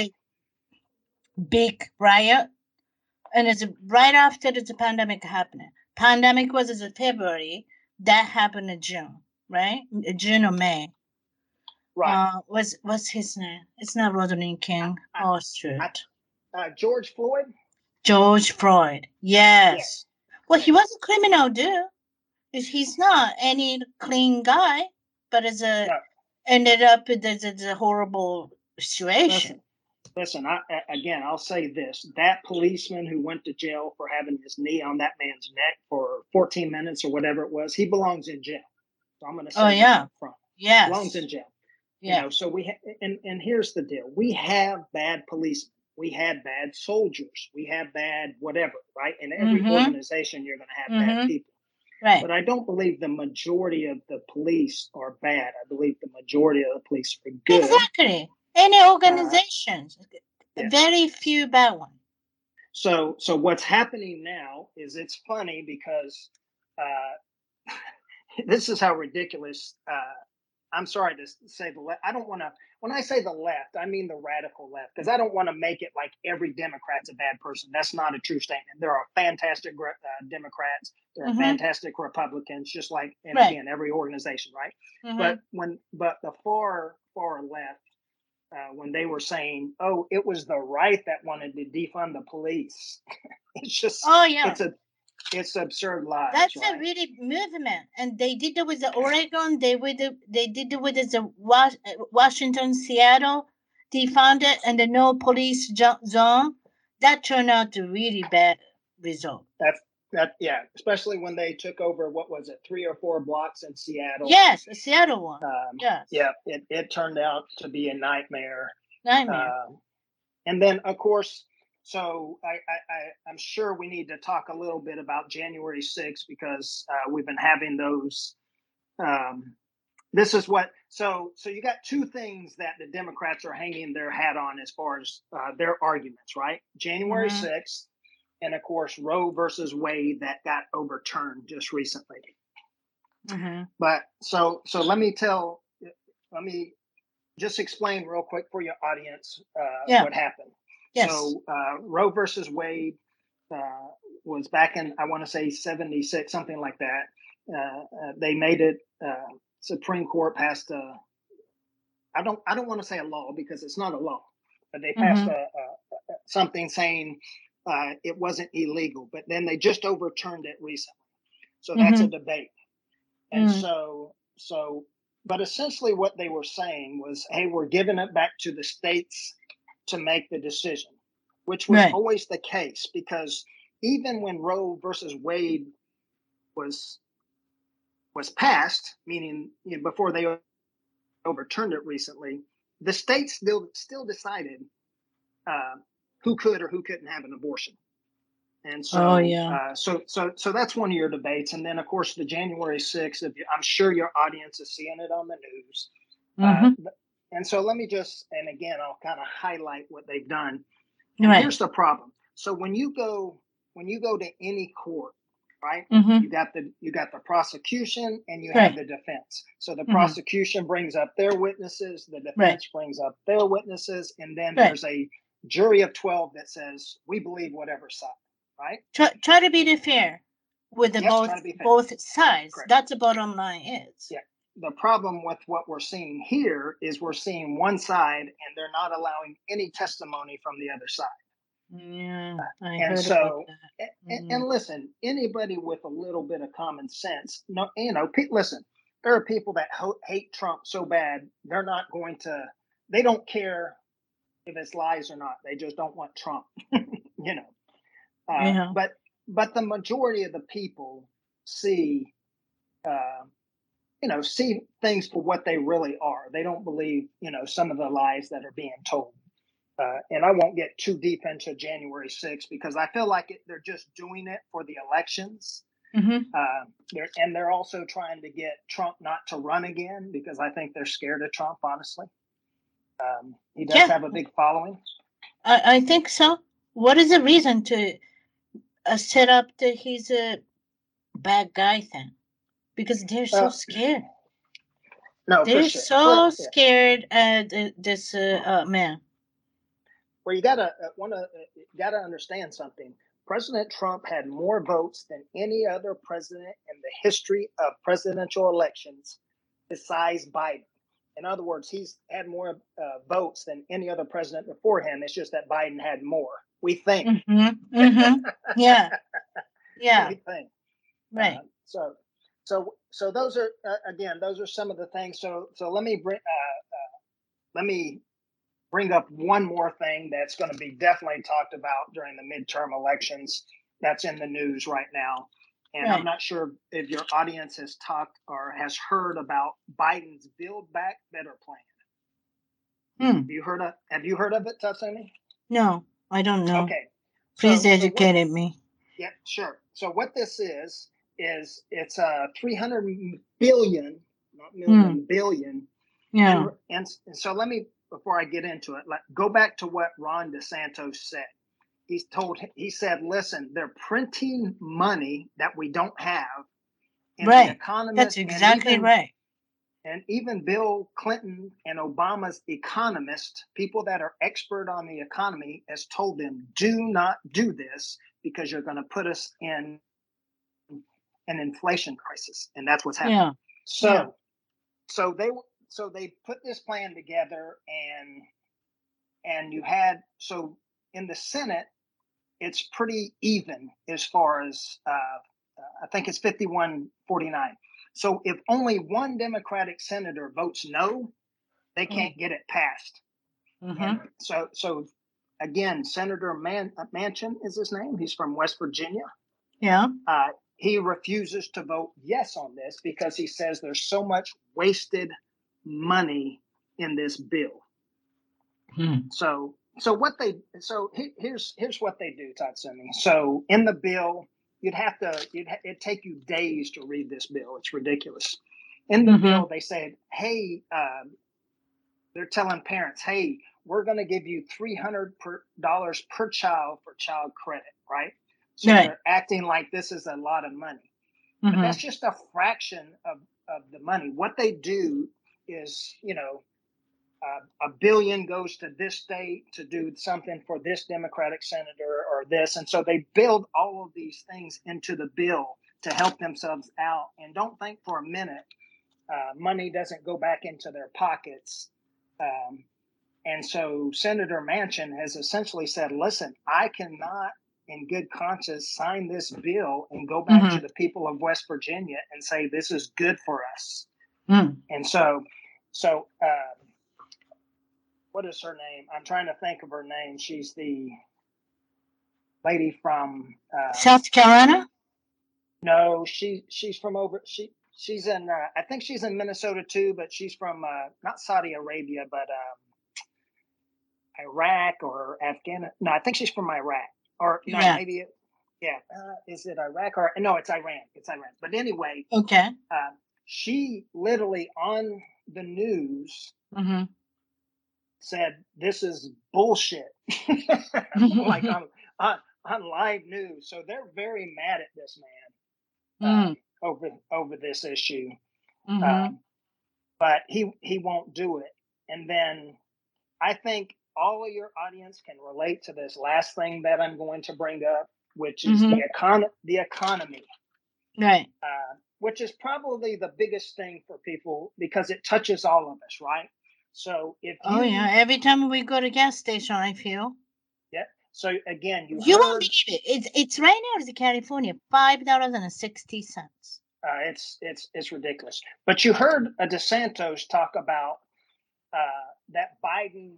a big riot, and it's right after the pandemic happened. Pandemic was in February. That happened in June, right? June or May. Right. Uh, what's what's his name? It's not Rodney King. I- Oh, I- shoot. Uh, George Floyd? George Floyd. Yes. Yes. Well, he was a criminal, dude. He's not any clean guy, but it's a No. ended up with this, this a horrible situation. Listen, listen I, again, I'll say this. That policeman who went to jail for having his knee on that man's neck for fourteen minutes or whatever it was, he belongs in jail. So I'm going to say Oh, that yeah. up front. Yes. Belongs in jail. Yeah. You know, so we ha- and and here's the deal: we have bad policemen, we had bad soldiers, we have bad whatever, right? In every Mhm. organization, you're going to have bad Mhm. people. Right. But I don't believe the majority of the police are bad. I believe the majority of the police are good. Exactly. Any organizations, yes. very few bad ones. So, so what's happening now is it's funny because uh, this is how ridiculous. Uh, I'm sorry to say the left. I don't want to. When I say the left, I mean the radical left, because I don't want to make it like every Democrat's a bad person. That's not a true statement. There are fantastic uh, Democrats. There are Mhm. fantastic Republicans, just like and Right. again every organization, right? Mhm. But when but the far far left. Uh, when they were saying, "Oh, it was the right that wanted to defund the police," it's just, Oh yeah, it's a, it's absurd lies. that's right? a really movement, and they did it with the Oregon. They with the, they did it with the Was- Washington, Seattle. Defund it, and the no police jo- zone. That turned out to really bad result. That's that, yeah. Especially when they took over, what was it, three or four blocks in Seattle? Yes, the Seattle one. Um, yes. Yeah, it, it turned out to be a nightmare. Nightmare. Um, and then, of course, so I, I, I, I'm sure we need to talk a little bit about January sixth because uh, we've been having those. Um, this is what so so you got two things that the Democrats are hanging their hat on as far as uh, their arguments, right? January Mhm. sixth, and of course Roe versus Wade that got overturned just recently. Mm-hmm. But so so let me tell, let me just explain real quick for your audience uh, Yeah. what happened. Yes. So uh, Roe versus Wade uh, was back in, I want to say seventy-six, something like that. Uh, uh, they made it. Uh, Supreme Court passed a. I don't. I don't want to say a law because it's not a law, but they passed Mhm. a, a, a something saying uh, it wasn't illegal. But then they just overturned it recently, so that's a Mhm. debate. And Mm. so, so, but essentially, what they were saying was, "Hey, we're giving it back to the states to make the decision," which was Right. always the case because even when Roe versus Wade was was passed, meaning you know, before they overturned it recently, the states still still decided uh, who could or who couldn't have an abortion. And so, Oh, yeah. uh, so, so, so that's one of your debates. And then, of course, the January sixth. If you, I'm sure your audience is seeing it on the news. Mm-hmm. Uh, and so, let me just, and again, I'll kind of highlight what they've done. Right. Here's the problem. So when you go, when you go to any court, right? Mm-hmm. You got the you got the prosecution and you Right. have the defense. So the Mm-hmm. prosecution brings up their witnesses, the defense Right. brings up their witnesses, and then Right. there's a jury of twelve that says we believe whatever side, right? Try, try to be fair with the Yes, both try to be fair. both sides. Correct. That's the bottom line is. Yeah. The problem with what we're seeing here is we're seeing one side and they're not allowing any testimony from the other side. Yeah, I And heard so, about that. and, Mm. and listen, anybody with a little bit of common sense, no, you know, pe- listen, there are people that ho- hate Trump so bad, they're not going to, they don't care if it's lies or not. They just don't want Trump, you know. Uh, Yeah. But, but the majority of the people see, uh, you know, see things for what they really are. They don't believe, you know, some of the lies that are being told. Uh, and I won't get too deep into January sixth because I feel like it, they're just doing it for the elections. Mm-hmm. Uh, they're, and they're also trying to get Trump not to run again because I think they're scared of Trump, honestly. Um, he does Yeah. have a big following. I, I think so. What is the reason to uh, set up that he's a bad guy then? Because they're so Uh, scared. No, They're for sure. so Well, yeah. scared at uh, this uh, uh, man. Well, you gotta uh, want to uh, you gotta understand something. President Trump had more votes than any other president in the history of presidential elections, besides Biden. In other words, he's had more uh, votes than any other president before him. It's just that Biden had more. We think. Mm-hmm. Mm-hmm. Yeah. Yeah. We think. Right. Uh, so, so, so those are uh, again, those are some of the things. So, so let me bring uh, uh, let me. bring up one more thing that's going to be definitely talked about during the midterm elections that's in the news right now. And Right. I'm not sure if your audience has talked or has heard about Biden's Build Back Better plan. Hmm. Have you heard of, have you heard of it, Tatsumi? No, I don't know. Okay. Please So- so educate what- me. Yeah, sure. So what this is, is it's a uh, three hundred billion, not million, billion. Yeah. And, and, and so let me, before I get into it, like, go back to what Ron DeSantis said. He's told, he said, listen, they're printing money that we don't have. And Right. The Economist, That's exactly and even, right. And even Bill Clinton and Obama's economists, people that are expert on the economy, has told them, do not do this because you're going to put us in an inflation crisis. And that's what's happening. Yeah. So, Yeah. so they, so they put this plan together, and, and you had, so in the Senate, it's pretty even as far as, uh, I think it's fifty-one forty-nine. So if only one Democratic senator votes no, they can't get it passed. Mm-hmm. And so, so again, Senator Man- Manchin is his name. He's from West Virginia. Yeah. Uh, he refuses to vote yes on this because he says there's so much wasted money in this bill. Hmm. So, so what they, so he, here's here's what they do, Tatsumi. So in the bill, you'd have to, you'd ha- it'd take you days to read this bill. It's ridiculous. In the Mhm. bill, they said, hey, um, they're telling parents, hey, we're going to give you three hundred dollars per, per child for child credit, right? So Right. they're acting like this is a lot of money. But Mhm. that's just a fraction of, of the money. What they do is, you know, uh, a billion goes to this state to do something for this Democratic senator or this. And so they build all of these things into the bill to help themselves out. And don't think for a minute uh, money doesn't go back into their pockets. Um, and so Senator Manchin has essentially said, listen, I cannot in good conscience sign this bill and go back Mhm. to the people of West Virginia and say this is good for us. Mm. And so, so uh, what is her name? I'm trying to think of her name. She's the lady from uh, South Carolina? No, she she's from over. She she's in. Uh, I think she's in Minnesota too, but she's from uh, not Saudi Arabia, but um, Iraq or Afghanistan. No, I think she's from Iraq, or no, Yeah. maybe. It, yeah, uh, is it Iraq or no? It's Iran. It's Iran. But anyway, Okay. uh, she literally on the news Mm-hmm. said this is bullshit, like on, on on live news. So they're very mad at this man uh, Mm. over over this issue. Mm-hmm. Um, but he he won't do it. And then I think all of your audience can relate to this last thing that I'm going to bring up, which is Mhm. the econ the economy, Right. uh, which is probably the biggest thing for people because it touches all of us, right? So if you, Oh yeah. Every time we go to gas station, I feel. yeah. So again, you You won't heard believe it. It's it's right now in California, five dollars and sixty cents. uh, it's it's it's ridiculous. But you heard a DeSantis talk about uh, that Biden,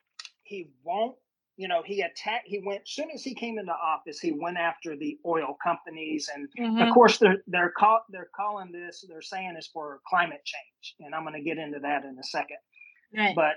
he won't, you know, he attacked, he went, as soon as he came into office, he went after the oil companies. And Mhm. of course, they're, they're, call, they're calling this, they're saying it's for climate change. And I'm going to get into that in a second. Right. But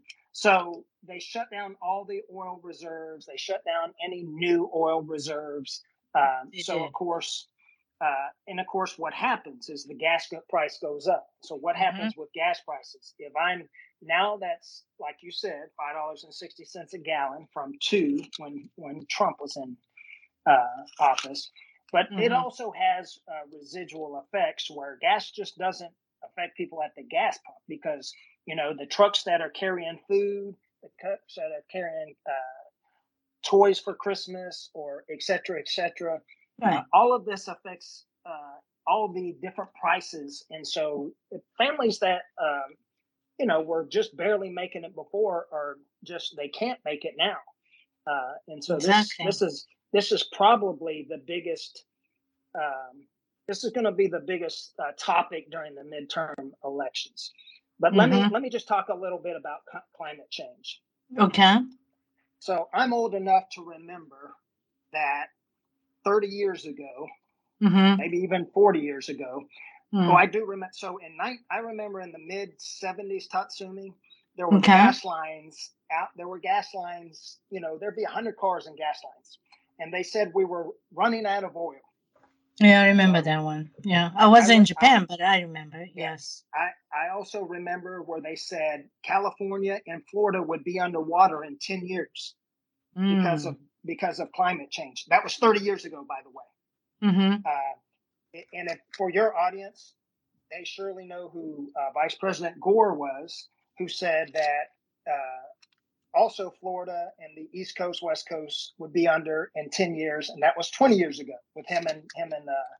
so they shut down all the oil reserves. They shut down any new oil reserves. Um, They so, did. of course, uh, and of course, what happens is the gas go- price goes up. So, what happens with gas prices? If I'm now that's like you said, five dollars and sixty cents a gallon from two when when Trump was in uh, office. But it Mhm. also has uh, residual effects where gas just doesn't affect people at the gas pump because you know the trucks that are carrying food, the trucks that are carrying uh, toys for Christmas, or et cetera, et cetera. Right. Uh, all of this affects uh, all the different prices, and so families that um, you know were just barely making it before are just they can't make it now, uh, and so Exactly. this this is this is probably the biggest. Um, this is going to be the biggest uh, topic during the midterm elections. But let me Mhm. let me just talk a little bit about c- climate change. Okay. So I'm old enough to remember that thirty years ago, Mhm. maybe even forty years ago. Mm. Oh, I do remember. So in night, I remember in the mid seventies, Tatsumi, there were Okay. gas lines out. There were gas lines. You know, there'd be a hundred cars in gas lines, and they said we were running out of oil. Yeah, I remember So that one. Yeah, I was I, in re- I Japan, but I remember. yeah, Yes. I I also remember where they said California and Florida would be underwater in ten years because Mm. of because of climate change. That was thirty years ago, by the way. Mhm. Uh, and if, for your audience, they surely know who uh, Vice President Gore was, who said that uh, also Florida and the East Coast, West Coast would be under in ten years, and that was twenty years ago with him and him and uh,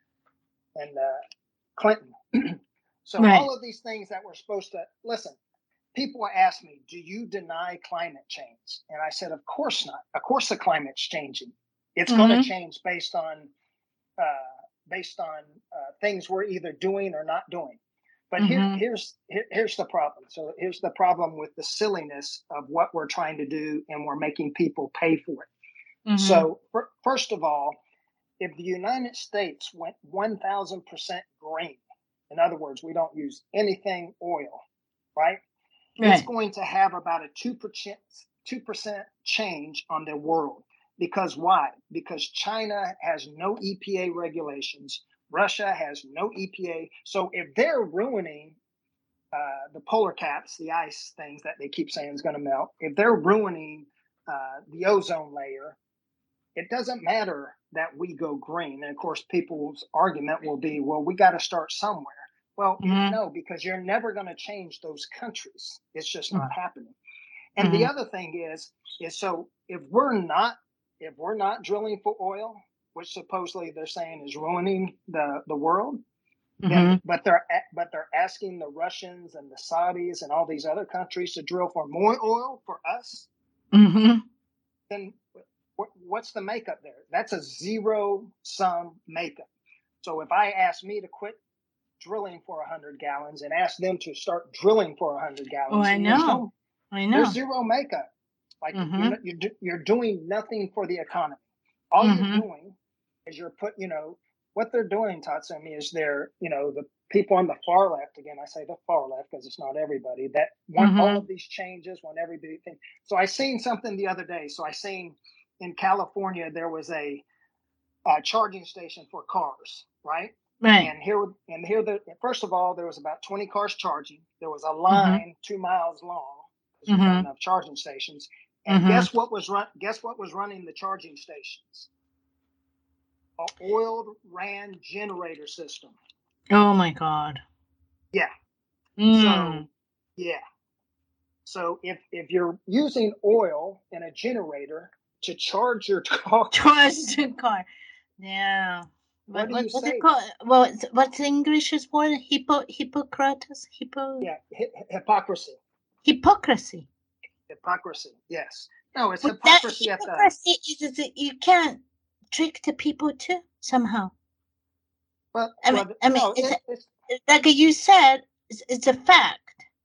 and uh, Clinton. So Right. all of these things that we're supposed to listen. People ask me, "Do you deny climate change?" And I said, "Of course not. Of course, the climate's changing. It's going to Mhm. change based on." Uh, based on uh, things we're either doing or not doing. But here, Mhm. here's here, here's the problem. So here's the problem with the silliness of what we're trying to do, and we're making people pay for it. Mhm. So for, first of all, if the United States went one thousand percent green, in other words, we don't use anything oil, right? It's Right. going to have about a two percent two percent change on the world. Because why? Because China has no E P A regulations. Russia has no E P A. So if they're ruining uh, the polar caps, the ice things that they keep saying is going to melt, if they're ruining uh, the ozone layer, it doesn't matter that we go green. And of course, people's argument will be, well, we got to start somewhere. Well, Mhm. no, because you're never going to change those countries. It's just Mhm. not happening. And the Mhm. other thing is, is so if we're not if we're not drilling for oil, which supposedly they're saying is ruining the, the world, then Mhm. but they're but they're asking the Russians and the Saudis and all these other countries to drill for more oil for us, Mhm. then what's the makeup there? That's a zero sum makeup. So if I ask me to quit drilling for one hundred gallons and ask them to start drilling for one hundred Oh, gallons, I and there's know. no I know. there's zero makeup. Like Mhm. you're you're you're doing nothing for the economy. All you're Mhm. doing is you're put you know what they're doing, Tatsumi, is they're, you know, the people on the far left, again, I say the far left because it's not everybody, that want Mm-hmm. all of these changes, want everybody. So I seen something the other day. So I seen in California, there was a, a charging station for cars, right? Right. And here, and here, the first of all, there was about twenty cars charging. There was a line mm-hmm. two miles long because there's mm-hmm. not enough charging stations. And mm-hmm. guess what was run? Guess what was running the charging stations? An oiled ran generator system. Oh my God. Yeah. Mm. So yeah. So if if you're using oil in a generator to charge your car, charge your car, yeah. What, what do what, you what's say? It called? Well, what's the English word? Hippo, Hippocrates? Hippo? Yeah, hi- hypocrisy. Hypocrisy. Hypocrisy. Yes. No, it's But hypocrisy that at the. Hypocrisy is that you can't trick the people too somehow. But I mean, well, I mean, no, it's, it, a, it's like you said, it's, it's a fact.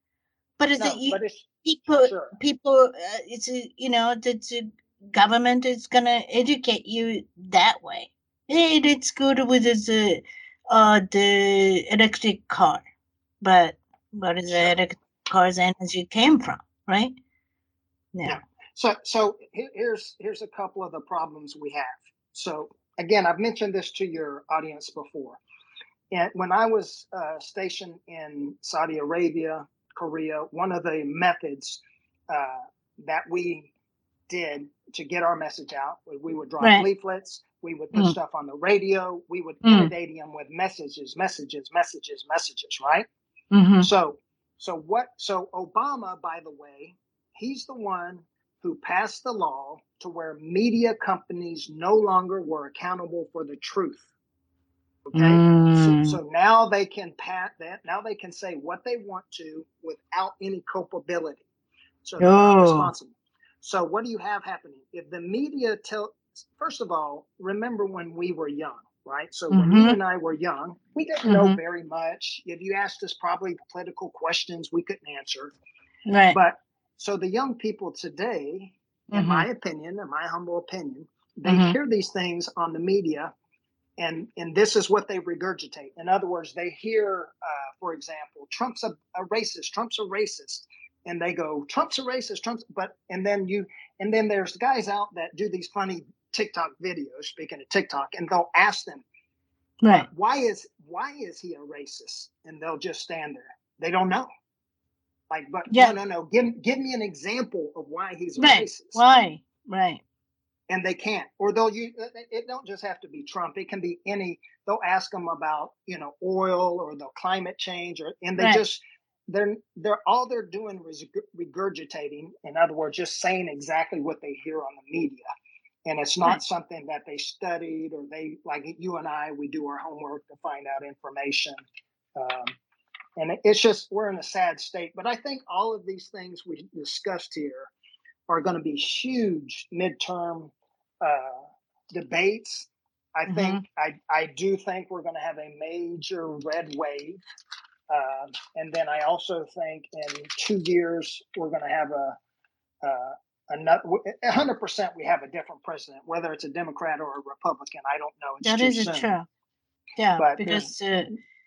But is no, it you? But it's, people, sure. people, uh, it's a, you know, the, the government is gonna educate you that way. Hey, it's good with the, uh, the electric car, but what is Sure. the electric car's energy came from, right? Yeah. yeah. So, so here's here's a couple of the problems we have. So again, I've mentioned this to your audience before. And when I was uh, stationed in Saudi Arabia, Korea, one of the methods uh, that we did to get our message out, we would drop right. leaflets, we would put mm. stuff on the radio, we would mm. inundate them with messages, messages, messages, messages, right? Mm-hmm. So, so what? So Obama, by the way, he's the one who passed the law to where media companies no longer were accountable for the truth. Okay, mm. so, so now they can pat that. Now they can say what they want to without any culpability. So they're oh. not responsible. So what do you have happening? If the media tell, first of all, remember when we were young, right? So mm-hmm. when you and I were young, we didn't mm-hmm. know very much. If you asked us probably political questions, we couldn't answer. Right. But so the young people today, in mm-hmm. my opinion, in my humble opinion, they mm-hmm. hear these things on the media. And and this is what they regurgitate. In other words, they hear, uh, for example, Trump's a, a racist. Trump's a racist, and they go, Trump's a racist. Trump's, but and then you and then there's guys out that do these funny TikTok videos. Speaking of TikTok, and they'll ask them, right, uh, why is why is he a racist? And they'll just stand there. They don't know. Like, but yeah. no, no, no. Give give me an example of why he's a right. racist. Why, right. And they can't, or they'll use, it don't just have to be Trump. It can be any, they'll ask them about, you know, oil or the climate change, or, and they right. just, they're, they're, all they're doing is regurgitating. In other words, just saying exactly what they hear on the media. And it's not right. something that they studied, or they, like you and I, we do our homework to find out information. Um, and it's just, we're in a sad state. But I think all of these things we discussed here are going to be huge midterm uh, debates. I mm-hmm. think I, I do think we're going to have a major red wave. Uh, and then I also think in two years, we're going to have a, uh, another, one hundred percent we have a different president, whether it's a Democrat or a Republican. I don't know. It's that too is soon. true. Yeah, but because uh,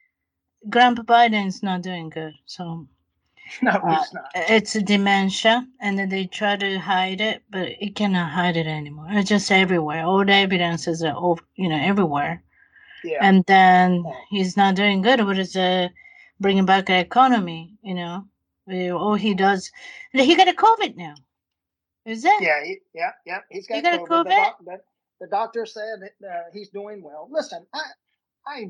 Grandpa Biden's not doing good. So no, uh, he's not. It's a dementia, and then they try to hide it, but it cannot hide it anymore. It's just everywhere. All the evidence is, uh, over, you know, everywhere. Yeah. And then he's not doing good. What is uh, bringing back the economy? You know, all he does. He got a COVID now. Is it? Yeah, he, yeah, yeah. He's got, he got COVID. A COVID? The, doc, the, the doctor said that uh, he's doing well. Listen, I, I.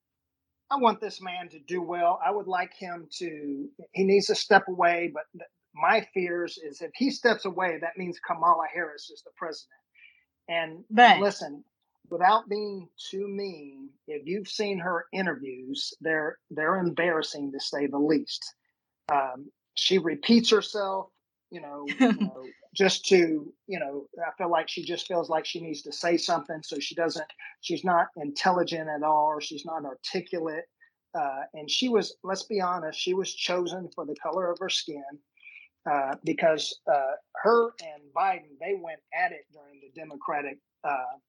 I want this man to do well. I would like him to, he needs to step away. But th- my fears is if he steps away, that means Kamala Harris is the president. And, right. and listen, without being too mean, if you've seen her interviews, they're they're embarrassing to say the least. Um, she repeats herself, you know, you know, just to, you know, I feel like she just feels like she needs to say something. So she doesn't, she's not intelligent at all, or she's not articulate. Uh, and she was, let's be honest, she was chosen for the color of her skin uh, because uh, her and Biden, they went at it during the Democratic uh,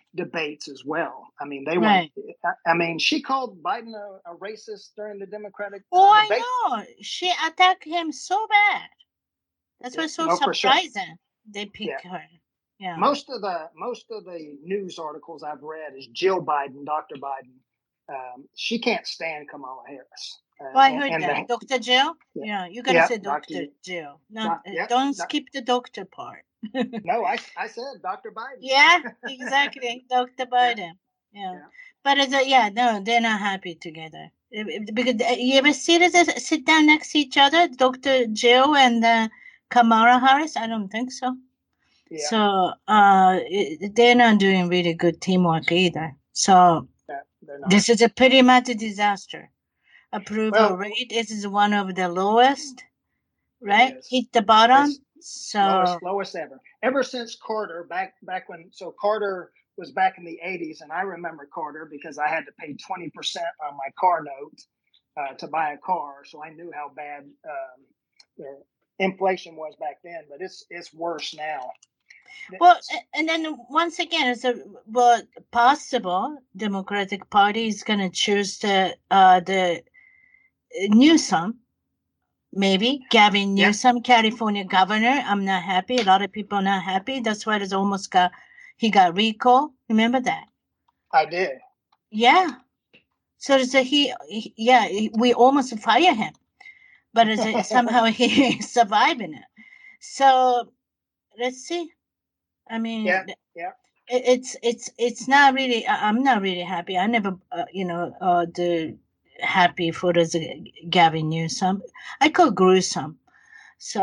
debates as well. I mean, they Right. went. I mean, she called Biden a, a racist during the Democratic uh, Oh, debate. I know. She attacked him so bad. That's Yeah, what's so no, for sure. surprising. They pick Yeah. her. Yeah. Most of the most of the news articles I've read is Jill Biden, Doctor Biden. Um, she can't stand Kamala Harris. Uh, Oh, I and- heard and that. the- Doctor Jill? Yeah. Yeah, you gotta Yeah, say Doctor Doctor Jill. Not, Doc- uh, yeah, don't Doc- skip the doctor part. no, I, I said Doctor Biden. Yeah, exactly. Doctor Biden. Yeah. Yeah. But it's a, yeah, no, they're not happy together. If- if- Because uh, you ever see this sit down next to each other, Doctor Jill and uh, Kamala Harris? I don't think so. Yeah. So uh, it, they're not doing really good teamwork either. So Yeah, they're not. this is a pretty much a disaster. Approval Well- rate is one of the lowest, right? is. Hit the bottom. It's So lowest lowest ever. Ever since Carter, back back when so Carter was back in the eighties, and I remember Carter because I had to pay twenty percent on my car note uh, to buy a car, so I knew how bad um, the inflation was back then. But it's it's worse now. well, a- and then once again, it's a well possible Democratic Party is going to choose the uh the uh, Newsom, maybe Gavin Yeah. Newsom, California governor. I'm not happy. A lot of people are not happy. That's why it's almost got he got recall. Remember that? I did. Yeah. So it's a he, he yeah, he- we almost fire him, but it's a, somehow he surviving it. So let's see. I mean, Yeah, th- yeah. it, it's it's it's not really. I- I'm not really happy. I never, uh, you know, uh, the happy for the Gavin Newsom. I call gruesome. So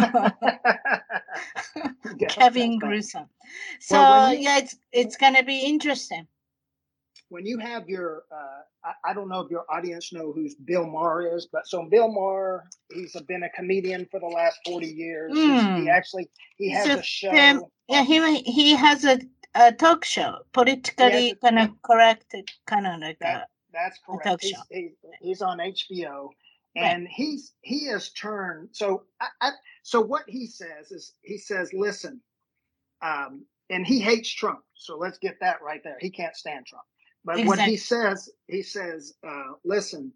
Yeah, Kevin that's fine. gruesome. So Well, when you- yeah, it's it's gonna be interesting. When you have your, uh, I, I don't know if your audience know who Bill Maher is, but so Bill Maher, he's been a comedian for the last forty years. He's- Mm. He actually he has So, a show. um, yeah, he he has a, a talk show, politically a- kind of yeah. correct, kind of like That, a, that's talk correct. He's, show. he, he's on H B O, Right. and he's he has turned. So I, I so what he says is he says, listen, um, and he hates Trump. So let's get that right there. He can't stand Trump. But what he says, he says, uh, listen,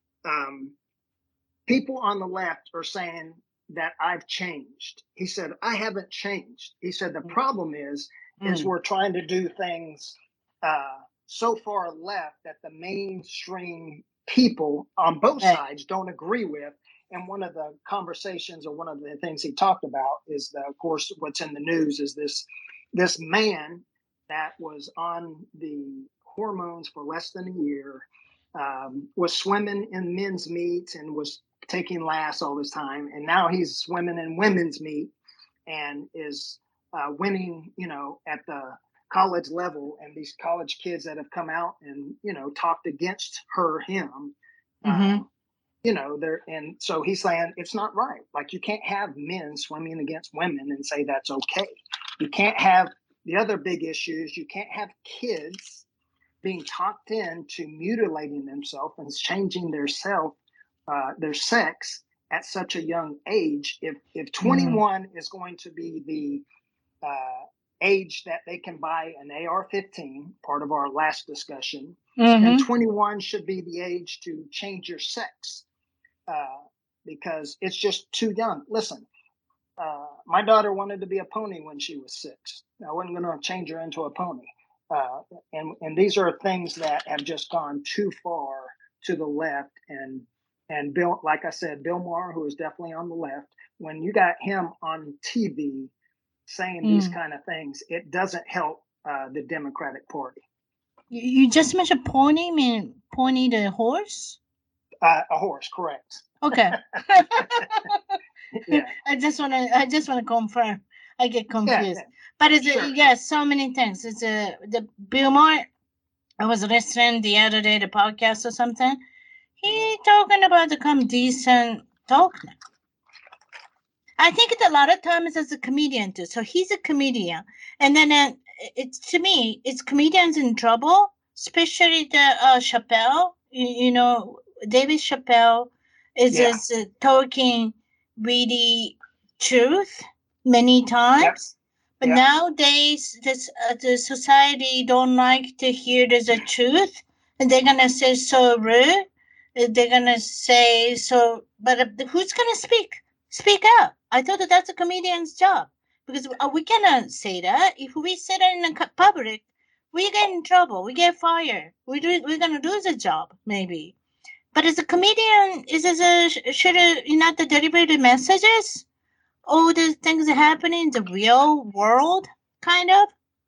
um, people on the left are saying that I've changed. He said, I haven't changed. He said, the problem is, is Mm. we're trying to do things uh, so far left that the mainstream people on both Right. sides don't agree with. And one of the conversations or one of the things he talked about is, that, of course, what's in the news is this this man that was on the hormones for less than a year, um, was swimming in men's meets and was taking lasts all this time. And now he's swimming in women's meet and is uh, winning, you know, at the college level. And these college kids that have come out and, you know, talked against her, him, Mhm. um, you know, they're, and so he's saying it's not right. Like, you can't have men swimming against women and say that's okay. You can't have the other big issues. You can't have kids being talked into mutilating themselves and changing their self, uh, their sex at such a young age. If if twenty-one is going to be the uh, age that they can buy an A R fifteen, part of our last discussion, Mhm. then twenty-one should be the age to change your sex, uh, because it's just too young. Listen, uh, my daughter wanted to be a pony when she was six. I wasn't going to change her into a pony. Uh, and and these are things that have just gone too far to the left. And and Bill, like I said, Bill Maher, who is definitely on the left, when you got him on T V saying these Mm. kind of things, it doesn't help uh, the Democratic Party. You, you just mentioned pony. I mean pony the horse. Uh, a horse, correct? Okay. Yeah. I just want to. I just want to confirm. I get confused. Yeah, But it's Sure. a, yeah, so many things. It's a the Bill Maher. I was listening the other day, the podcast or something. He talking about the come decent talk now. I think it's a lot of times as a comedian too. So he's a comedian, and then uh, it's to me, it's comedians in trouble, especially the uh, Chappelle. You, you know, David Chappelle is Yeah. is uh, talking really truth many times, But Yeah. nowadays, this uh, the society don't like to hear the, the truth, and they're gonna say so rude. Uh, They're gonna say so, but uh, who's gonna speak? Speak out. I thought that that's a comedian's job because uh, we cannot say that. If we say that in the cu- public, we get in trouble. We get fired. We do. We're gonna lose a job maybe. But as a comedian, is as a should uh, you not deliver the messages? All the things that happen in the real world, kind of.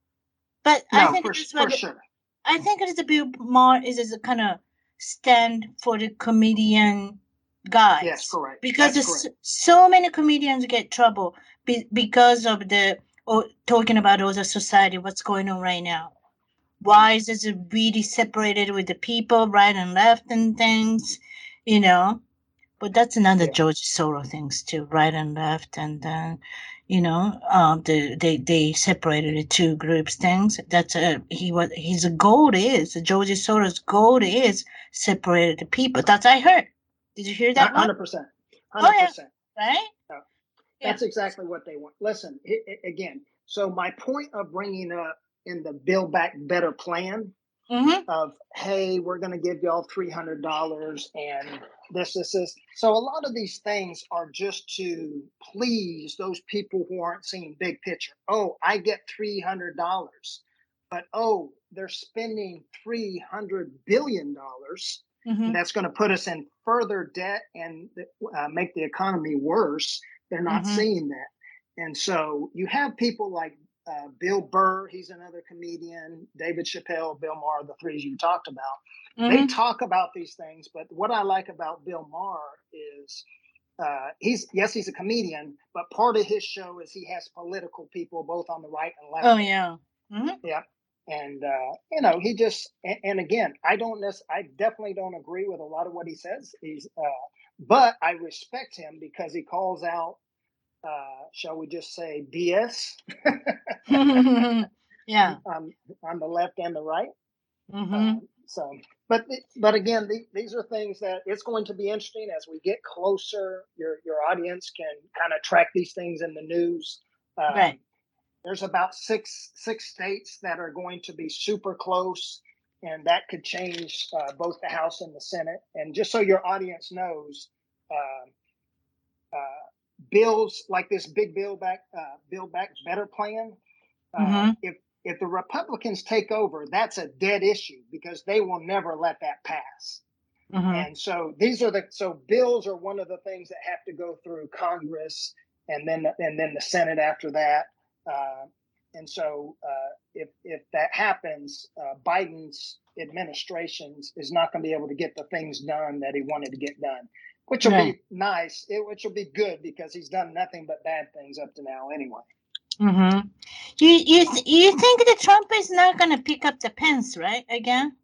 But I No, think for that's for what sure. I think it's a bit more is as a kind of stand for the comedian guys. Yes, correct. Because That's there's correct. so many comedians get trouble be, because of the or talking about all the society, what's going on right now. Why is it really separated with the people, right and left and things, you know? But that's another Yeah. George Soros things too, right and left, and then, you know, um, the, they they separated the two groups things. That's a he what his goal is. George Soros' goal is separated the people. That's I heard. Did you hear that one? Hundred percent. Oh Hundred yeah, percent. right. Yeah. That's exactly what they want. Listen, i- i- again. So my point of bringing up in the Build Back Better plan Mm-hmm. of, hey, we're going to give y'all three hundred dollars and this, this, this. So a lot of these things are just to please those people who aren't seeing big picture. Oh, I get three hundred dollars, but oh, they're spending three hundred billion dollars. Mm-hmm. That's going to put us in further debt and uh, make the economy worse. They're not Mm-hmm. seeing that. And so you have people like uh, Bill Burr, he's another comedian, David Chappelle, Bill Maher, the three you talked about. Mm-hmm. They talk about these things, but what I like about Bill Maher is uh, he's, yes, he's a comedian, but part of his show is he has political people both on the right and left. Oh yeah. Mm-hmm. Yeah. And, uh, you know, he just, and, and again, I don't necessarily, I definitely don't agree with a lot of what he says. He's, uh, but I respect him because he calls out, uh, shall we just say B S? Yeah. um, on the left and the right. Mm-hmm. Um, so, but but again, the, these are things that it's going to be interesting as we get closer. Your your audience can kind of track these things in the news. Um, Right. There's about six six states that are going to be super close, and that could change uh, both the House and the Senate. And just so your audience knows, uh, uh, bills like this big Build Back uh, Build Back Better plan. Uh, Mm-hmm. If if the Republicans take over, that's a dead issue because they will never let that pass. Mm-hmm. And so these are the so bills are one of the things that have to go through Congress and then and then the Senate after that. Uh, and so uh, if if that happens, uh, Biden's administration is not going to be able to get the things done that he wanted to get done, which will Right. be nice. It, which will be good because he's done nothing but bad things up to now anyway. Mm-hmm. You you th- you think that Trump is not going to pick up the Pence, right? Again?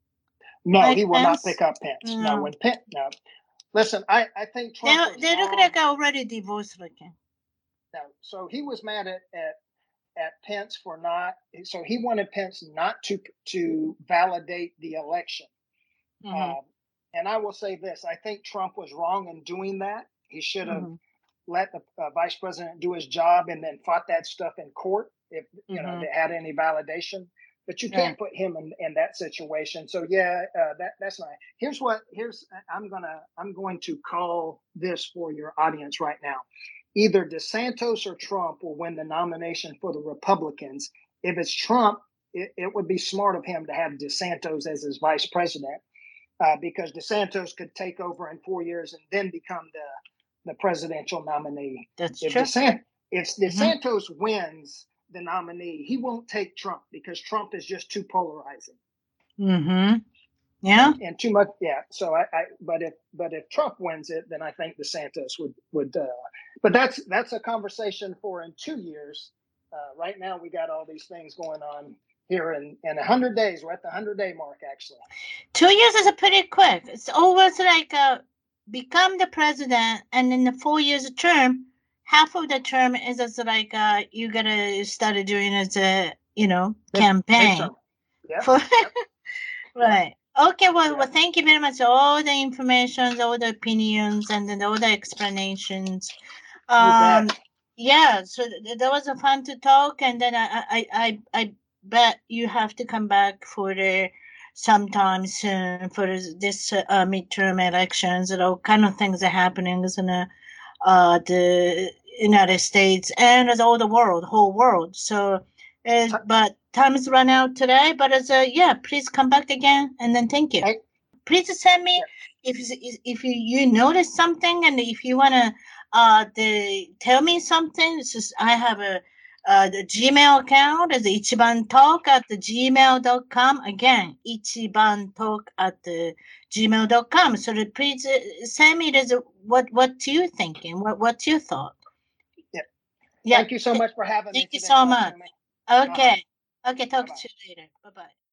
No, Mike he will Pence? not pick up Pence. No, No. when Pence, no. Listen, I, I think They Trump was they look wrong. like already divorced looking. No, so he was mad at, at at Pence for not. So he wanted Pence not to to validate the election. Mm-hmm. Um, and I will say this: I think Trump was wrong in doing that. He should have Mm-hmm. let the uh, vice president do his job and then fought that stuff in court if you know Mhm. they had any validation. But you can't put him in, in that situation. So yeah, uh, that that's not. Here's what here's I'm gonna I'm going to call this for your audience right now. Either DeSantis or Trump will win the nomination for the Republicans. If it's Trump, it, it would be smart of him to have DeSantis as his vice president uh, because DeSantis could take over in four years and then become the the presidential nominee. That's If true. DeSantis, if Mhm. DeSantis wins the nominee, he won't take Trump because Trump is just too polarizing Mm-hmm. Yeah. and too much. Yeah. So I, I but if but if Trump wins it, then I think DeSantis would would. Uh, but that's that's a conversation for in two years. Uh, right now, we got all these things going on here in in a hundred days. We're at the hundred day mark, actually. Two years is a pretty quick. It's always like uh, become the president, and in the four years of term, half of the term is as like uh, you gotta start doing as a you know campaign. Midterm. Yeah. For, Yep. right. Okay. Well, Yeah. well, thank you very much. All the information, all the opinions, and then all the explanations. You Um, bet. Yeah, so th- that was a fun to talk, and then I, I, I, I bet you have to come back for the sometime soon for this, this uh, midterm elections and all kind of things are happening in the, uh, the United States and as all the world, whole world. So, uh, but time is run out today. But as a yeah, please come back again, and then thank you. Hey, Please send me if if you, you notice something and if you wanna uh the tell me something. It's just I have a uh the Gmail account is ichiban talk at the gmail dot com. Again, ichiban talk at the gmail dot com. So the, please uh, send me this, what what you thinking? What what's your thought? yeah. Yeah. Thank you so much for having me Thank you today, so much. Tatsumi. Uh-huh. Okay. Okay, talk Bye-bye. to you later. Bye bye.